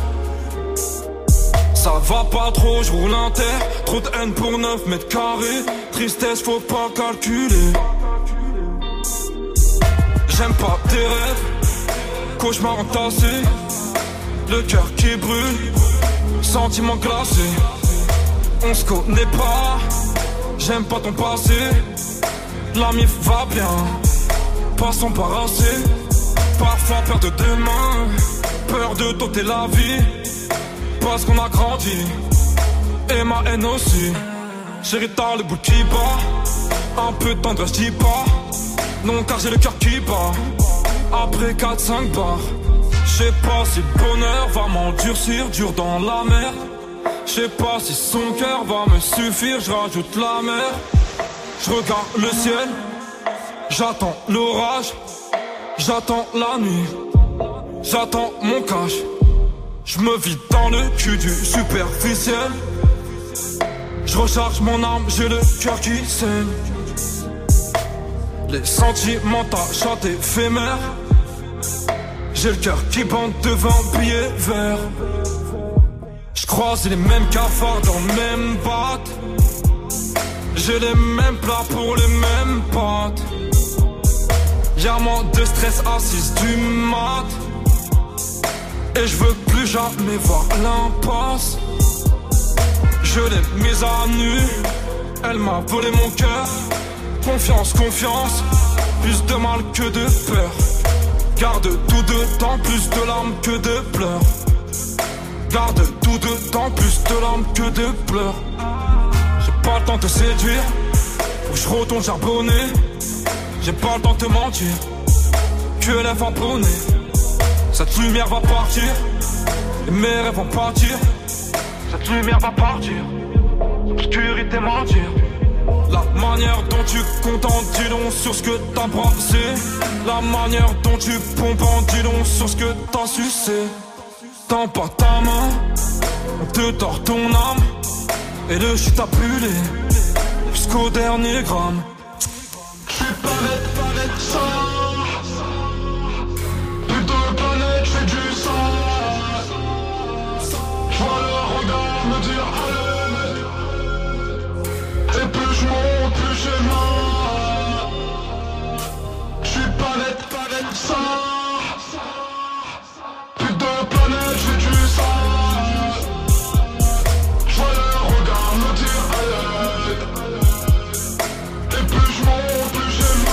Ça va pas trop, je roule inter. Trop de haine pour 9 mètres carrés. Tristesse, faut pas calculer. J'aime pas tes rêves. Cauchemar entassé. Le cœur qui brûle. Sentiment glacé. On se connaît pas. J'aime pas ton passé. L'ami va bien. Passons par assez. Parfois peur de demain. Peur de t'ôter la vie. Parce qu'on a grandi. Et ma haine aussi. Chérie, t'as le bout qui bat. Un peu de tendresse, j'dis pas. Non, car j'ai le cœur qui bat. Après 4-5 bars. J'sais pas si le bonheur va m'endurcir. Dur dans la mer. J'sais pas si son cœur va me suffire. J'rajoute la mer. J'regarde le ciel. J'attends l'orage. J'attends la nuit. J'attends mon cash. J'me vide dans le cul du superficiel. J'recharge mon arme, j'ai le cœur qui saigne. Les sentiments tachent éphémères. J'ai le cœur qui bande devant billet vert. J'croise les mêmes cafards dans le même batte. J'ai les mêmes plats pour les mêmes pâtes. Y'a moins de stress à 6 du mat. Et je veux plus jamais voir l'impasse. Je l'ai mise à nu. Elle m'a volé mon cœur. Confiance, confiance. Plus de mal que de peur. Garde tout de temps, plus de larmes que de pleurs. Garde tout de temps, plus de larmes que de pleurs. J'ai pas le temps de te séduire. Faut que je retourne charbonner. J'ai pas le temps de te mentir. Que les vents poney. Cette lumière va partir, et mes rêves vont partir. Cette lumière va partir, obscurité mentir. La manière dont tu comptes en dis donc sur ce que t'as brassé. La manière dont tu pompes en dis donc sur ce que t'as sucé. Tends pas ta main, on te tord ton âme. Et le shit a brûlé jusqu'au dernier gramme. J'suis pas net ça. Plus de planète, j'fais du sang. J'vois le regard me dire allez. Et plus j'monte, plus j'ai mal. J'suis pas net ça. Plus de planète, j'fais du sang. J'vois le regard me dire allez. Et plus j'monte, plus j'ai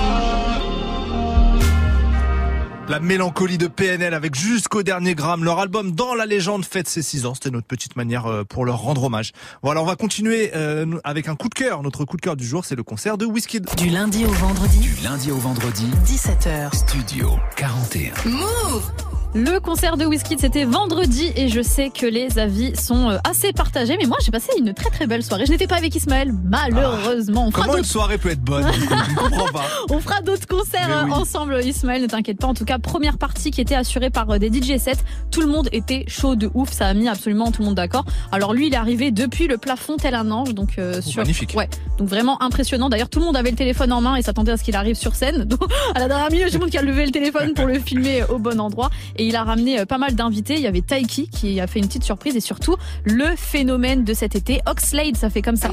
mal. La mélancolie de PNL avec Jusqu'au dernier gramme. Leur album Dans la légende fête ses 6 ans. C'était notre petite manière pour leur rendre hommage. Voilà, on va continuer avec un coup de cœur. Notre coup de cœur du jour, c'est le concert de Wizkid. Du lundi au vendredi. Du lundi au vendredi, 17h. Studio 41. Move! Le concert de Wizkid, c'était vendredi et je sais que les avis sont assez partagés. Mais moi, j'ai passé une très très belle soirée. Je n'étais pas avec Ismaël, malheureusement. Comment une soirée peut être bonne? Je ne comprends pas. On fera d'autres concerts ensemble, Ismaël, ne t'inquiète pas. En tout cas, première partie qui était assurée par des DJ sets. Tout le monde était chaud de ouf. Ça a mis absolument tout le monde d'accord. Alors lui, il est arrivé depuis le plafond tel un ange. Donc magnifique. Ouais, donc vraiment impressionnant. D'ailleurs, tout le monde avait le téléphone en main et s'attendait à ce qu'il arrive sur scène. Donc, à la dernière minute, tout le monde qui a levé le téléphone pour le filmer au bon endroit. Et il a ramené pas mal d'invités. Il y avait Taiki qui a fait une petite surprise et surtout le phénomène de cet été, Oxlade. Ça fait comme ça.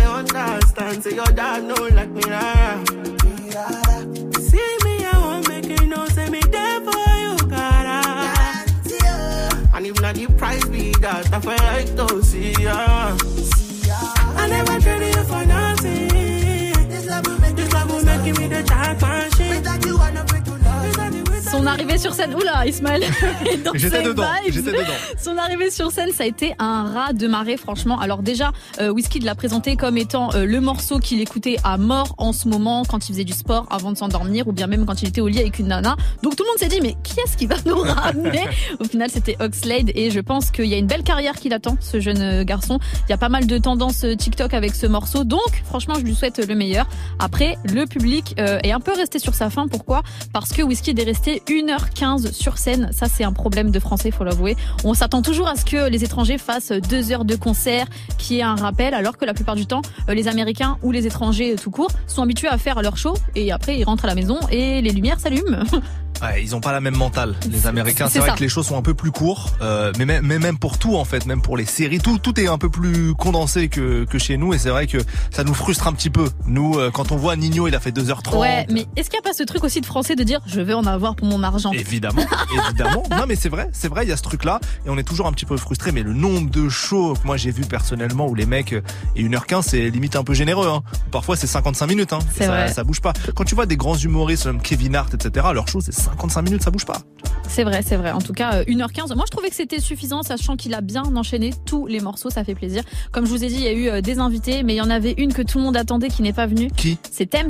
Son arrivée sur scène, oula, Ismaël. J'étais dedans. Son arrivée sur scène, ça a été un ras de marée, franchement. Alors déjà, Wizkid l'a présenté comme étant le morceau qu'il écoutait à mort en ce moment quand il faisait du sport avant de s'endormir ou bien même quand il était au lit avec une nana. Donc tout le monde s'est dit, mais qui est-ce qui va nous ramener? Au final, c'était Oxlade et je pense qu'il y a une belle carrière qui l'attend, ce jeune garçon. Il y a pas mal de tendances TikTok avec ce morceau. Donc, franchement, je lui souhaite le meilleur. Après, le public est un peu resté sur sa faim. Pourquoi? Parce que Wizkid est resté 1h15 sur scène. Ça, c'est un problème de français, faut l'avouer. On s'attend toujours à ce que les étrangers fassent 2 heures de concert, qui est un rappel, alors que la plupart du temps, les Américains ou les étrangers tout court sont habitués à faire leur show et après ils rentrent à la maison et les lumières s'allument. Ouais, ils ont pas la même mentale, les Américains. C'est vrai que les shows sont un peu plus courts, mais même pour tout en fait, même pour les séries, tout est un peu plus condensé que chez nous et c'est vrai que ça nous frustre un petit peu. Nous, quand on voit Nino, il a fait 2h30. Ouais, mais est-ce qu'il n'y a pas ce truc aussi de français de dire je vais en avoir pour mon argent? Évidemment. Non mais c'est vrai, il y a ce truc-là et on est toujours un petit peu frustré. Mais le nombre de shows que moi j'ai vu personnellement où les mecs et 1h15 c'est limite un peu généreux. Hein. Parfois c'est 55 minutes. Hein. Ça bouge pas. Quand tu vois des grands humoristes comme Kevin Hart, etc. Leur show c'est 55 minutes, ça bouge pas. C'est vrai. En tout cas, 1h15. Moi, je trouvais que c'était suffisant, sachant qu'il a bien enchaîné tous les morceaux. Ça fait plaisir. Comme je vous ai dit, il y a eu des invités, mais il y en avait une que tout le monde attendait qui n'est pas venue. Qui? C'est Thames.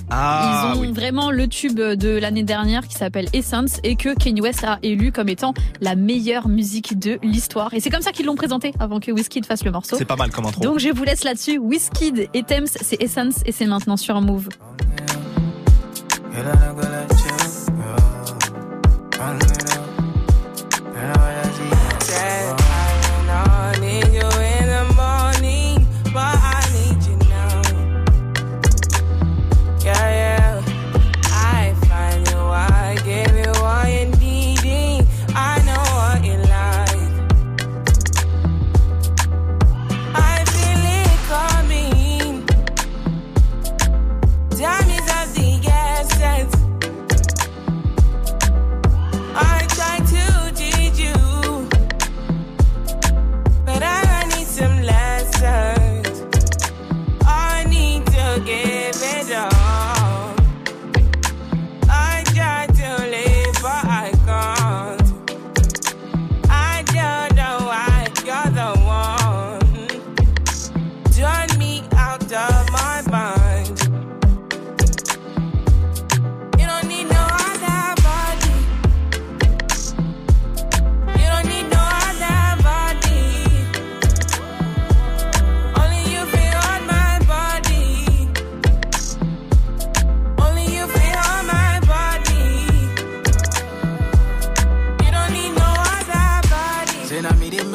Ils ont vraiment le tube de l'année dernière qui s'appelle Essence et que Kanye West a élu comme étant la meilleure musique de l'histoire. Et c'est comme ça qu'ils l'ont présenté avant que Wizkid fasse le morceau. C'est pas mal comme intro. Donc je vous laisse là-dessus. Wizkid et Thames, c'est Essence et c'est maintenant sur Move. Time is of the essence.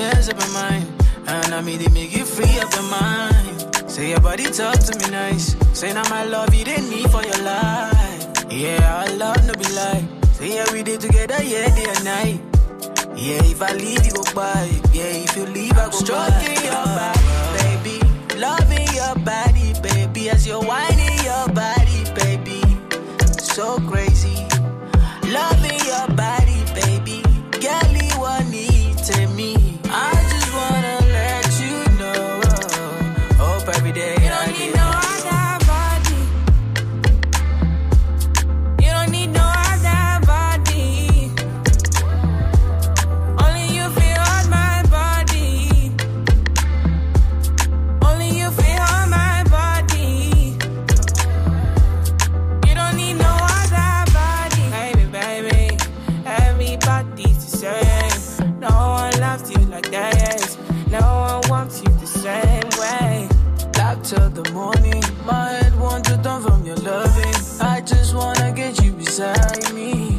mess up your mind. And I mean, they make you free up your mind. Say your body talk to me nice. Say now my love you didn't need for your life. Yeah, our love no be lie. Say yeah, we did together, yeah, day and night. Yeah, if I leave, you go by. Yeah, if you leave, I go stroking your body, baby. Loving your body, baby. As you're whining your body, baby. So crazy. Loving your body, baby. Girl, you want need to me. I just wanna let you know. Hope every day you don't need no other body. You don't need no other body. Only you feel on my body. Only you feel on my body. You don't need no other body. Baby, baby, everybody's the same. No one loves you like this. No one wants you the same way. Back till the morning. My head wants to turn from your loving. I just wanna get you beside me.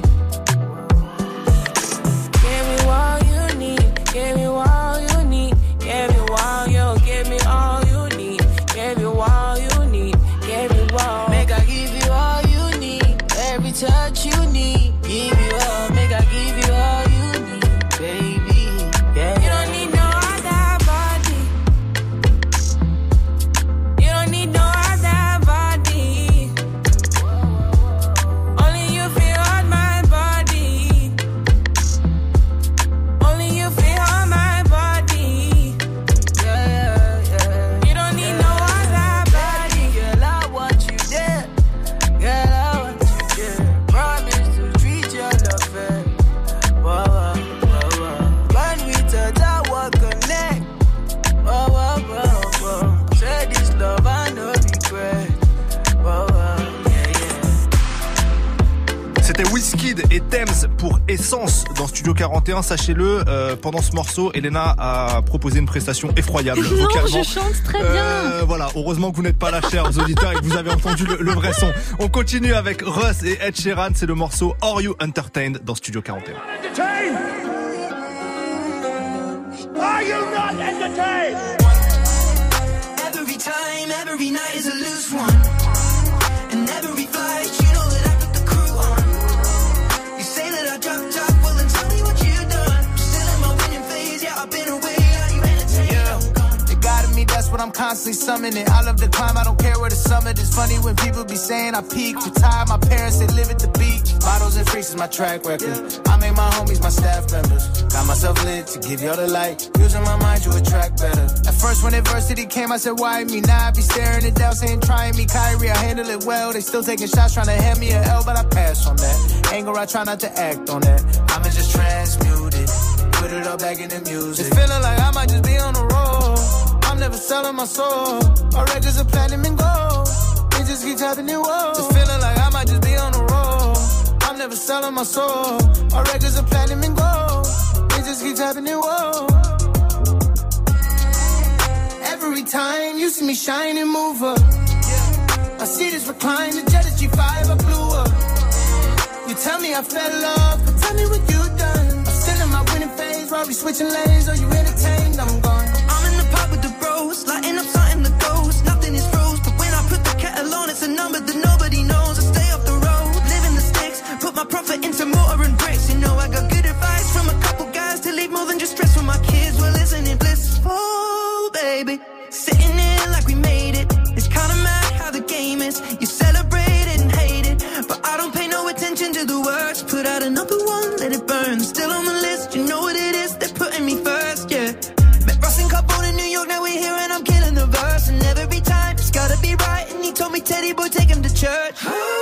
Give me all you need. Give me all you need. Give me all you. Give me all you need. Give me all you need. Give me all. Make I give you all you need. Every touch you need. Give you all. Make I give you all you need, baby. Yeah. You don't need no other body. You don't need no other body. Only you feel on my body. Only you feel on my body. Yeah, yeah. You don't need no other body. Girl, I want you there. Girl, I want you there. Promise to treat your love fair. Whoa, whoa, whoa, whoa. When we touch, I will connect. Whoa, whoa, whoa, whoa. Say this love, I no regret. Whoa, whoa, yeah, yeah. C'était Wizkid et Thames pour Essence dans Studio 41. Sachez-le, pendant ce morceau, Elena a proposé une prestation effroyable Non, vocalement. je chante très bien. Voilà, heureusement que vous n'êtes pas là, chers auditeurs, et que vous avez entendu le vrai son. On continue avec Russ et Ed Sheeran. C'est le morceau Are You Entertained dans Studio 41. Entertained? Are you not entertained? Every time, every night is a loose one. And every flight, you know that I put the crew on. You say that I dropped off, well then tell me what you done. Still in my winning phase, yeah, I've been away. Are you entertained? Yeah, they guided me, that's what I'm constantly summoning. I love the climb, I don't care where the summit. It's funny when people be saying I peaked. Retired, my parents, they live at the beach. Bottles and freaks is my track record. I make my homies my staff members. Got myself lit to give y'all the light. Using my mind to attract better. At first when adversity came, I said why me? Now I be staring it down, saying try me. Kyrie, I handle it well. They still taking shots, trying to hand me an L, but I pass on that. Anger, I try not to act on that. I'ma just transmute it, put it all back in the music. It's feeling like I might just be on the road. I'm never selling my soul. My records are platinum and gold. It just keeps happening, whoa. It's feeling like I might just be on the road. I'm never selling my soul. My records are platinum and gold. It just keeps happening, whoa. Every time you see me shine and move up, I see this recline, the jet G5, I blew up. You tell me I fell off, but tell me what you done. I'm still in my winning phase, while we switching lanes. Are you entertained? I'm gone. I'm in the pub with the bros, lighting up something that goes. Nothing is froze, but when I put the kettle on, it's a number that nobody knows. I stay off the road, live in the sticks, put my profit into mortar and bricks. You know I got good advice from a couple guys to leave more than just stress for my kids. Well, isn't it blissful, baby? Sitting here like we made it. It's kinda mad how the game is. You celebrate it and hate it, but I don't pay no attention to the words. Put out another one, let it burn. Still on the list, you know what it is. They're putting me first, yeah. Met Russ and Carbone in New York, now we're here and I'm killing the verse. And every time it's gotta be right. And he told me, Teddy boy, take him to church.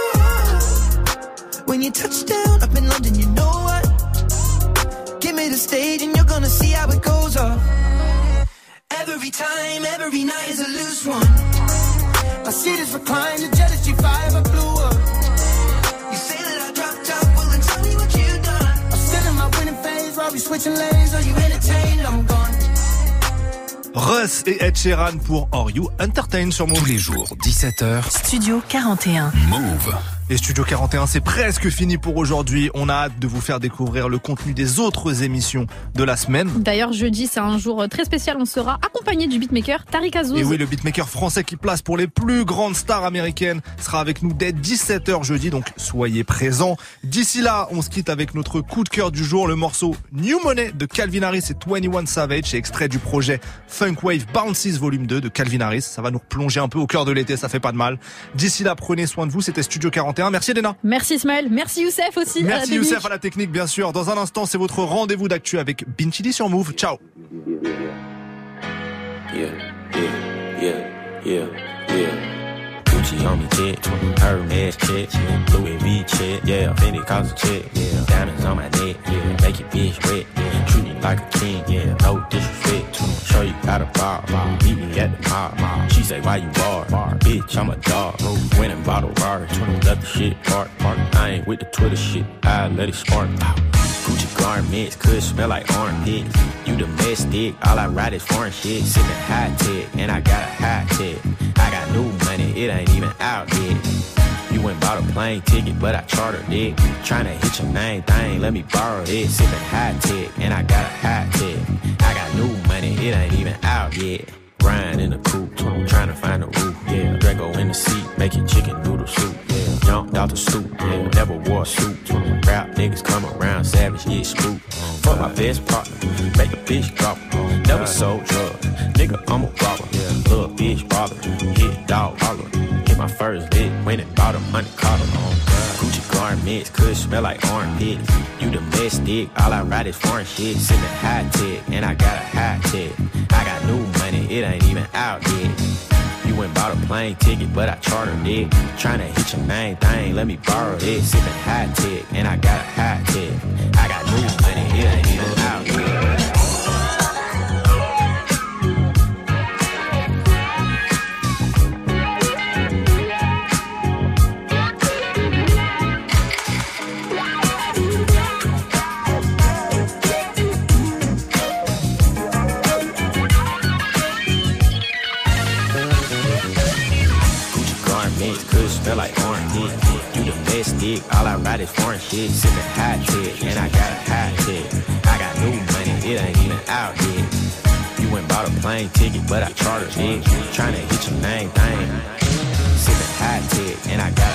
When you touch down up in London, you know what? Give me the stage and you're gonna see how it goes off. Every time, every night is a loose one. I see this recline, the jet G5, I blew up. You say that I dropped out, well then tell me what you done. I'm still in my winning phase, while we switching lanes. Are you entertained? I'm gone. Russ et Ed Sheeran pour Are You Entertained sur Move. Tous les jours, 17h. Studio 41. Move. Et Studio 41, c'est presque fini pour aujourd'hui. On a hâte de vous faire découvrir le contenu des autres émissions de la semaine. D'ailleurs, jeudi, c'est un jour très spécial. On sera accompagné du beatmaker Tariq Azouz. Et oui, le beatmaker français qui place pour les plus grandes stars américaines sera avec nous dès 17h jeudi, donc soyez présents. D'ici là, on se quitte avec notre coup de cœur du jour, le morceau New Money de Calvin Harris et 21 Savage. C'est extrait du projet Funk Wave Bounces Volume 2 de Calvin Harris. Ça va nous replonger un peu au cœur de l'été, ça fait pas de mal. D'ici là, prenez soin de vous. C'était Studio 41. Merci Léna. Merci Ismaël. Merci Youssef aussi. Merci Youssef à la technique, bien sûr. Dans un instant, c'est votre rendez-vous d'actu avec Binchidi sur Move. Ciao. Gucci on me check, Hermes check, Louis V check, yeah, Fendi cause a check, yeah, diamonds on my neck, yeah, make your bitch wet, yeah, treat me like a king, yeah, no disrespect, show you how to bar, meet me at the mob, she say why you bar, bitch I'm a dog, winning bottle bar, love the shit, park, I ain't with the Twitter shit, I let it spark, Gucci garments could smell like armpits. You domestic, all I ride is foreign shit. Sipping high tech, and I got a high tech. I got new money, it ain't even out yet. You went bought a plane ticket, but I chartered it. Tryna hit your main thing, let me borrow it. Sipping high tech, and I got a high tech. I got new money, it ain't even out yet. Grind in the coupe, tryna find the roof, yeah. Draco in the seat, making chicken noodle soup, yeah. Jumped out the stoop, yeah. Never wore a suit, rap niggas come around, savage, get spooked. Fuck my best partner, make a bitch drop. Never sold drugs, nigga, I'm a robber. Little bitch bother, hit dog holler. Hit my first lick, went and bought a money collar. Gucci garments could smell like armpits. You domestic, all I ride is foreign shit. Sipping high tech, and I got a high tech. I got new money, it ain't even out yet. You went bought a plane ticket, but I chartered it. Tryna hit your main thing, let me borrow it. Sipping high tech, and I got a high tech. I got new money, it ain't even out yet. Smell like orange dick. You domestic, all I ride is foreign shit. Sipping high tech, and I got a high tech. I got new money, it ain't even out yet. You went bought a plane ticket, but I chartered it. Tryna hit your main thing. Sipping high tech, and I got